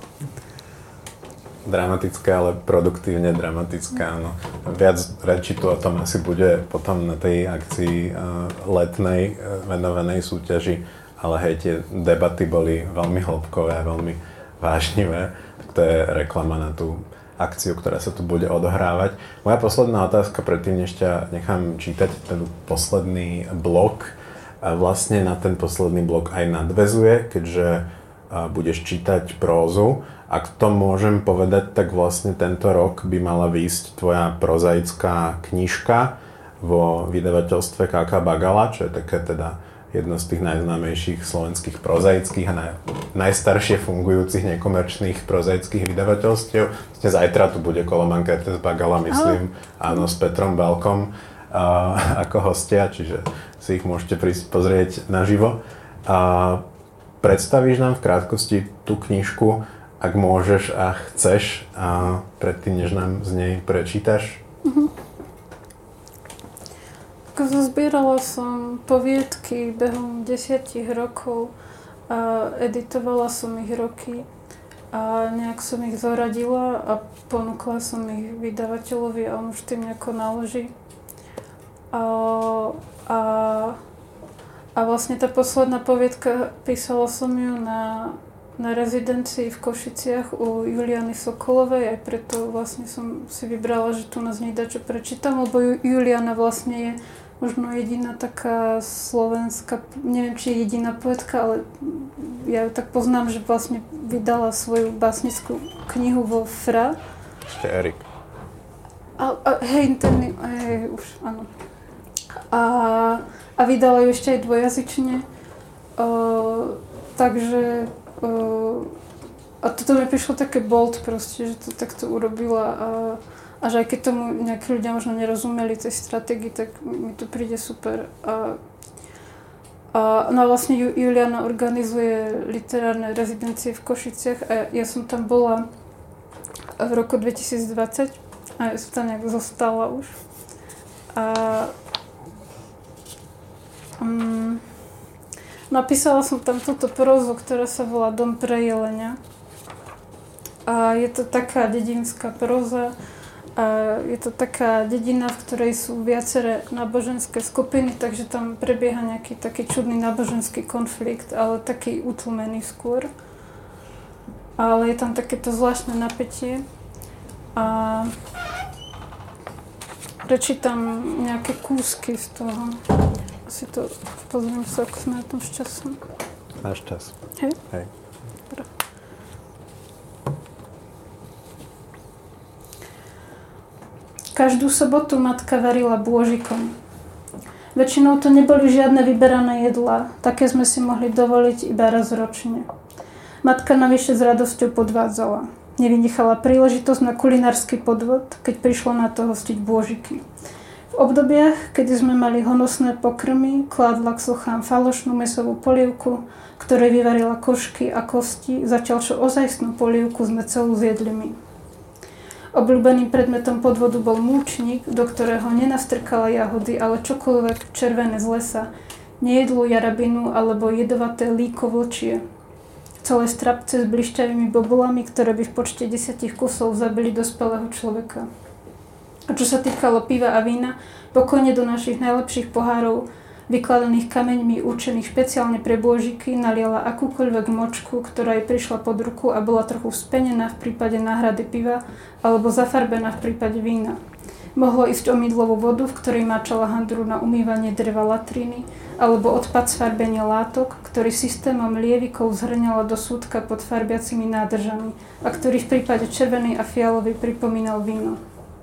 Dramatické, ale produktívne dramatické, áno. Viac reči tu o tom asi bude potom na tej akcii uh, letnej uh, venovanej súťaži, ale hej, tie debaty boli veľmi hĺbkové, veľmi vážnivé. Tak to je reklama na tú akciu, ktorá sa tu bude odohrávať. Moja posledná otázka, predtým než ťa nechám čítať ten posledný blok, a vlastne na ten posledný blok aj nadväzuje, keďže uh, budeš čítať prózu. Ak to môžem povedať, tak vlastne tento rok by mala výjsť tvoja prozaická knižka vo vydavateľstve ká ká Bagala, čo je také teda jedno z tých najznámejších slovenských prozaických a naj, najstaršie fungujúcich nekomerčných prozaických vydavateľstiev. Vlastne zajtra tu bude Koloman Kertész Bagala, myslím, áno, s Petrom Belkom uh, ako hostia, čiže si ich môžete prísť pozrieť naživo. Uh, predstavíš nám v krátkosti tú knižku, ak môžeš a chceš, a predtým, než nám z nej prečítaš? Uh-huh. Zozbierala som poviedky behom desiatich rokov a editovala som ich roky a nejak som ich zoradila a ponúkla som ich vydavateľovi a on už tým nejako naloží. A, a, a vlastne tá posledná poviedka, písala som ju na na rezidencii v Košiciach u Juliany Sokolovej, aj preto vlastne som si vybrala, že tu nás nedá čo prečítam, lebo Juliana vlastne je možno jediná taká slovenská, neviem, či je jediná poetka, ale ja ju tak poznám, že vlastne vydala svoju básnickú knihu vo Fra. Ešte Erik. A, a hej, ten, hej, už, áno. A, a vydala ju ešte aj dvojazyčne. Uh, takže Uh, a toto mi prišlo také bold proste, že to takto urobila a, a že aj keď tomu nejakí ľudia možno nerozumeli tej stratégii, tak mi to príde super. A, a, no a vlastne Juliana organizuje literárne rezidencie v Košiciach a ja som tam bola v roku dvetisícdvadsať a ja som tam nejak zostala už. A um, napísala som tam túto prózu, ktorá sa volá Dom pre jelenia. A je to taká dedinská próza. A je to taká dedina, v ktorej sú viaceré náboženské skupiny, takže tam prebieha nejaký taký čudný náboženský konflikt, ale taký utlmený skôr. Ale je tam takéto zvláštne napätie. A prečítam nejaké kúsky z toho. Si to pozriem sa, ako sme na tom s časom. Máš čas. Hej? Hej. Dobre. Každú sobotu matka varila bôžikom. Väčšinou to neboli žiadne vyberané jedlá, také sme si mohli dovoliť iba raz ročne. Matka navyše s radosťou podvádzala. Nevynechala príležitosť na kulinársky podvod, keď prišlo na to hostiť bôžiky. V obdobiach, kedy sme mali honosné pokrmy, kládla k sochám falošnú mäsovú polievku, ktorej vyvarila košky a kosti, zatiaľ čo ozajstnú polievku sme celú zjedli my. Obľúbeným predmetom podvodu bol múčnik, do ktorého nenastrkala jahody, ale čokoľvek červené z lesa, nejedlú jarabinu alebo jedovaté líko vlčie. Celé strapce s blišťavými bobulami, ktoré by v počte desiatich kusov zabili dospelého človeka. A čo sa týkalo piva a vína, pokojne do našich najlepších pohárov vykladaných kameňmi určených špeciálne pre bôžiky, naliala akúkoľvek močku, ktorá jej prišla pod ruku a bola trochu spenená v prípade náhrady piva alebo zafarbená v prípade vína. Mohlo ísť o mydlovú vodu, v ktorej máčala handru na umývanie dreva latriny, alebo odpad z farbenia látok, ktorý systémom lievikov zhrňala do súdka pod farbiacimi nádržami a ktorý v prípade červenej a fialovej pripomínal víno.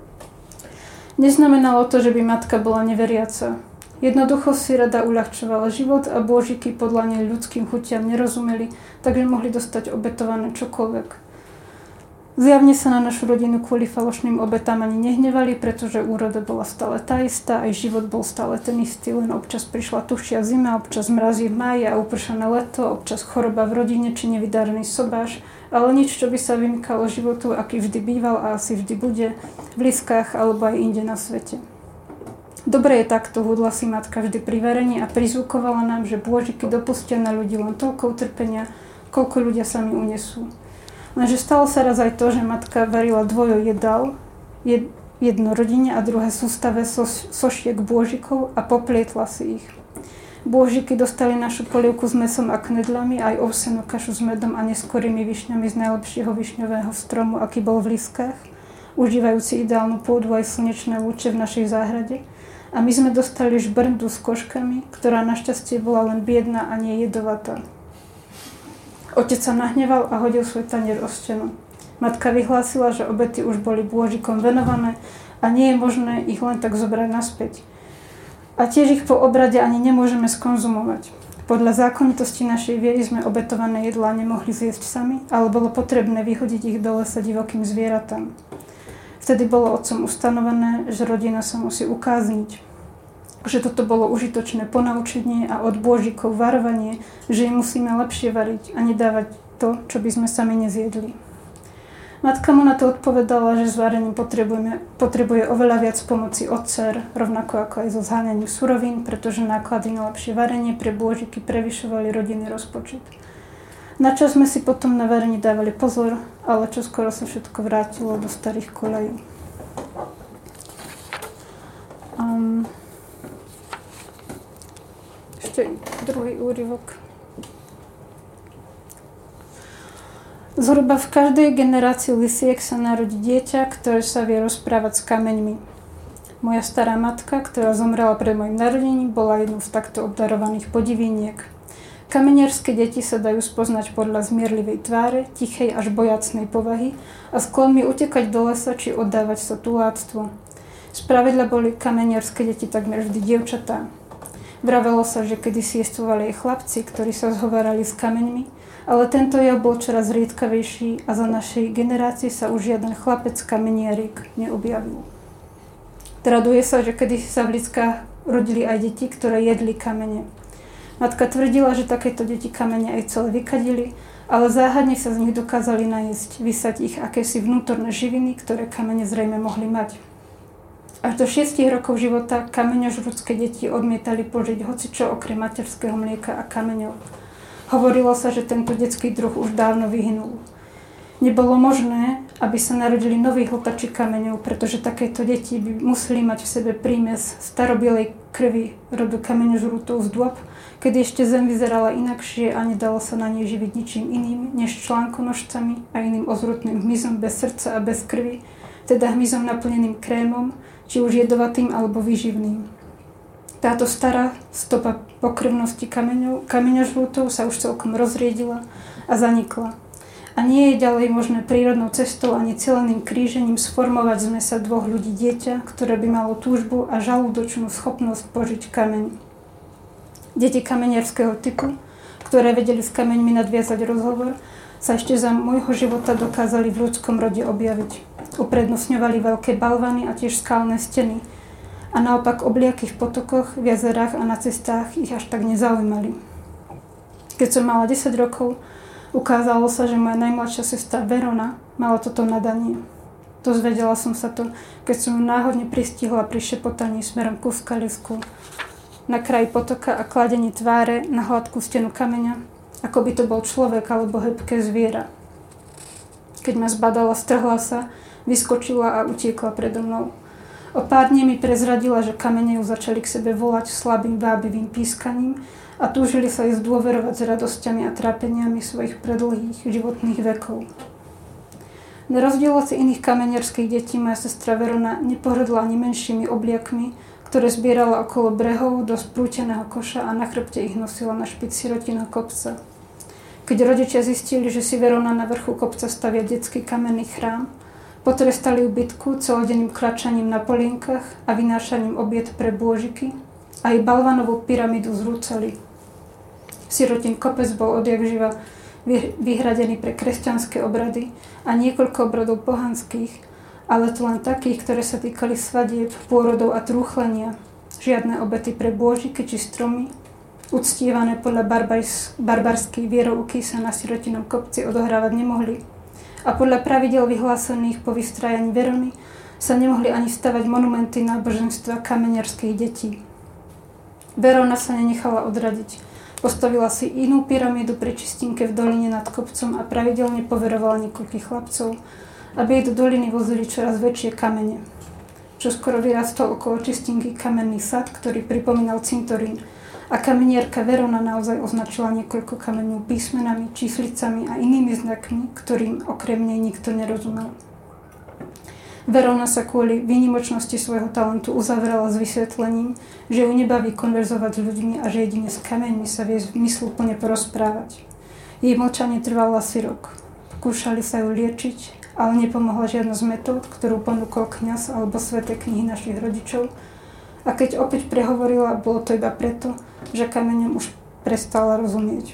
Neznamenalo to, že by matka bola neveriaca. Jednoducho si rada uľahčovala život a bôžiky podľa nej ľudským chutiam nerozumeli, takže mohli dostať obetované čokoľvek. Zjavne sa na našu rodinu kvôli falošným obetám ani nehnevali, pretože úroda bola stále tá istá, aj život bol stále ten istý, len občas prišla tušia zima, občas mrazí v máji a upršané leto, občas choroba v rodine či nevydarený sobáš, ale nič, čo by sa vymykalo životu, aký vždy býval a asi vždy bude, v Liskách alebo aj inde na svete. Dobre je takto, hudla si matka vždy pri varení a prizvukovala nám, že bôžiky dopustia na ľudí len toľko utrpenia, koľko ľudia sami unesú. Lenže stalo sa raz aj to, že matka varila dvojo jedál, jed, jedno rodine a druhé sústave so, sošiek bôžikov a poplietla si ich. Bôžiky dostali našu polievku s mäsom a knedľami, aj ovsenú kašu s medom a neskorými višňami z najlepšieho višňového stromu, aký bol v Liskách, užívajúci ideálnu pôdu aj slnečné lúče v našej záhrade. A my sme dostali žbrndu s koškami, ktorá našťastie bola len biedna a nie jedovatá. Otec sa nahneval a hodil svoj tanier o stenu. Matka vyhlásila, že obety už boli bôžikom venované a nie je možné ich len tak zobrať naspäť. A tiež ich po obrade ani nemôžeme skonzumovať. Podľa zákonitosti našej viery sme obetované jedlá nemohli zjesť sami, ale bolo potrebné vyhodiť ich do lesa divokým zvieratám. Vtedy bolo otcom ustanovené, že rodina sa musí ukázniť, že toto bolo užitočné ponaučenie a od bôžikov varovanie, že im musíme lepšie variť a nedávať to, čo by sme sami nezjedli. Matka mu na to odpovedala, že s varením potrebuje oveľa viac pomoci od dcér, rovnako ako aj so zháňaním surovín, pretože náklady na lepšie varenie pre bôžiky prevyšovali rodinný rozpočet. Na čo sme si potom na varení dávali pozor, ale čoskoro sa všetko vrátilo do starých koľají. Um, ešte druhý úryvok. Zhruba v každej generácii Lisiek sa narodí dieťa, ktoré sa vie rozprávať s kameňmi. Moja stará matka, ktorá zomrela pred mojim narodením, bola jednou z takto obdarovaných podiviniek. Kamenierské deti sa dajú spoznať podľa zmierlivej tváre, tichej až bojacnej povahy a sklonmi utekať do lesa či oddávať sa tuláctvu. Spravidla boli kamenierské deti takmer vždy dievčatá. Vravelo sa, že kedysi jestvovali aj chlapci, ktorí sa zhovárali s kameňmi, ale tento jav bol čoraz riedkavejší a za našej generácie sa už žiaden chlapec kamenierik neobjavil. Traduje sa, že kedysi sa v Liskách rodili aj deti, ktoré jedli kamene. Matka tvrdila, že takéto deti kamene aj celé vykadili, ale záhadne sa z nich dokázali najesť, vysať ich akési vnútorné živiny, ktoré kamene zrejme mohli mať. Až do šiestich rokov života kameňožrúdske deti odmietali požiť hocičo okrem materského mlieka a kameňov. Hovorilo sa, že tento detský druh už dávno vyhynul. Nebolo možné, aby sa narodili noví hltači kameňov, pretože takéto deti by museli mať v sebe prímes starobielej krvi rodu kameňožrútov z dôb, kedy ešte zem vyzerala inakšie a nedalo sa na nej živiť ničím iným, než článkonožcami a iným ozrutným hmyzom bez srdca a bez krvi, teda hmyzom naplneným krémom, či už jedovatým alebo výživným. Táto stará stopa pokrvnosti kameňov, kameňožrútov sa už celkom rozriedila a zanikla. A nie je ďalej možné prírodnou cestou ani celeným krížením sformovať z mesa dvoch ľudí dieťa, ktoré by malo túžbu a žalúdočnú schopnosť požiť kameň. Deti kamenierského typu, ktoré vedeli s kameňmi nadviazať rozhovor, sa ešte za môjho života dokázali v ľudskom rode objaviť. Uprednostňovali veľké balvany a tiež skalné steny. A naopak obliaky v potokoch, v jazerách a na cestách ich až tak nezaujímali. Keď som mala desať rokov, ukázalo sa, že moja najmladšia sestra Verona mala toto nadanie. Dozvedela som sa to, keď som ju náhodne pristihla pri šepotaní smerom ku skalisku na kraji potoka a kladení tváre na hladkú stenu kameňa, ako by to bol človek alebo hebké zviera. Keď ma zbadala, strhla sa, vyskočila a utiekla predo mnou. O pár dní mi prezradila, že kamene ju začali k sebe volať slabým vábivým pískaním a túžili sa ju zdôverovať s radosťami a trápeniami svojich predlhých životných vekov. Na rozdiel od iných kamenierských detí moja sestra Verona nepohrdla ani menšími obliakmi, ktoré zbierala okolo brehov do sprúteného koša a na chrbte ich nosila na špici sirotinného kopca. Keď rodičia zistili, že si Verona na vrchu kopca stavia detský kamenný chrám, potrestali ju bitku celodenným kráčaním na polienkach a vynášaním obiet pre bôžiky a aj balvanovú pyramidu zrúcali. Sirotin kopec bol odjakživa vyhradený pre kresťanské obrady a niekoľko obradov pohanských, ale to len takých, ktoré sa týkali svadieb, pôrodov a trúchlenia. Žiadne obety pre bôžiky či stromy, uctievané podľa barbars- barbarskej vierouky sa na sirotinom kopci odohrávať nemohli. A podľa pravidel vyhlásených po vystrájaní Verony sa nemohli ani stavať monumenty náboženstva kamenierských detí. Verona sa nenechala odradiť. Postavila si inú pyramídu pri čistinke v doline nad kopcom a pravidelne poverovala niekoľkých chlapcov, aby jej do doliny vozili čoraz väčšie kamene. Čoskoro vyrastol okolo čistinky kamenný sad, ktorý pripomínal cintorín, a kamenierka Verona naozaj označila niekoľko kameňov písmenami, číslicami a inými znakmi, ktorým okrem nej nikto nerozumel. Verona sa kvôli výnimočnosti svojho talentu uzavrela s vysvetlením, že ju nebaví konverzovať s ľuďmi a že jedine s kameňmi sa vie zmysluplne porozprávať. Jej mlčanie trvalo asi rok. Pokúšali sa ju liečiť, ale nepomohla žiadna z metód, ktorú ponúkol kňaz alebo sväté knihy našich rodičov. A keď opäť prehovorila, bolo to iba preto, že kameňom už prestala rozumieť.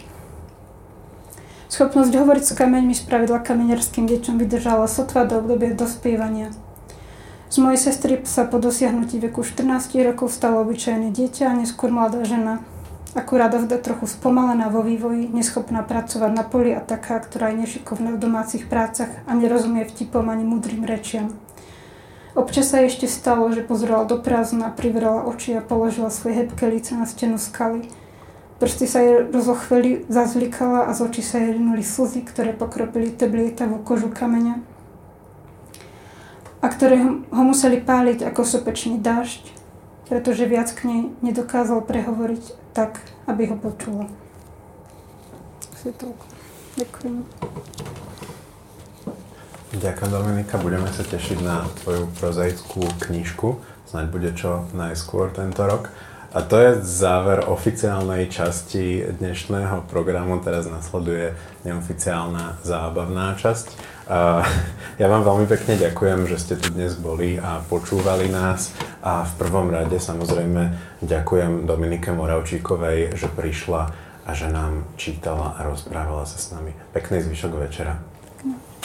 Schopnosť hovoriť s kameňmi spravidla kamenierským deťom vydržala sotva do obdobia dospievania. Z mojej sestry sa po dosiahnutí veku štrnásť rokov stalo obyčajné dieťa a neskôr mladá žena. Akurát ovda trochu spomalená vo vývoji, neschopná pracovať na poli a taká, ktorá je nešikovná v domácich prácach a nerozumie vtipom ani múdrym rečiam. Občas sa ešte stalo, že pozerala do prázdna, privrela oči a položila svoje hebké líce na stenu skaly. Prsty sa jej rozochveli, zazvlikala a z očí sa jej rinuli slzy, ktoré pokropili teblietavú kožu kameňa a ktoré ho museli páliť ako sopečný dážď, pretože viac k nej nedokázal prehovoriť tak, aby ho počula. Asi toľko. Ďakujem. Ďakujem, Dominika. Budeme sa tešiť na tvoju prozaickú knižku. Snáď bude čo najskôr tento rok. A to je záver oficiálnej časti dnešného programu. Teraz nasleduje neoficiálna zábavná časť. Ja vám veľmi pekne ďakujem, že ste tu dnes boli a počúvali nás. A v prvom rade samozrejme ďakujem Dominike Moravčíkovej, že prišla a že nám čítala a rozprávala sa s nami. Pekný zvyšok večera.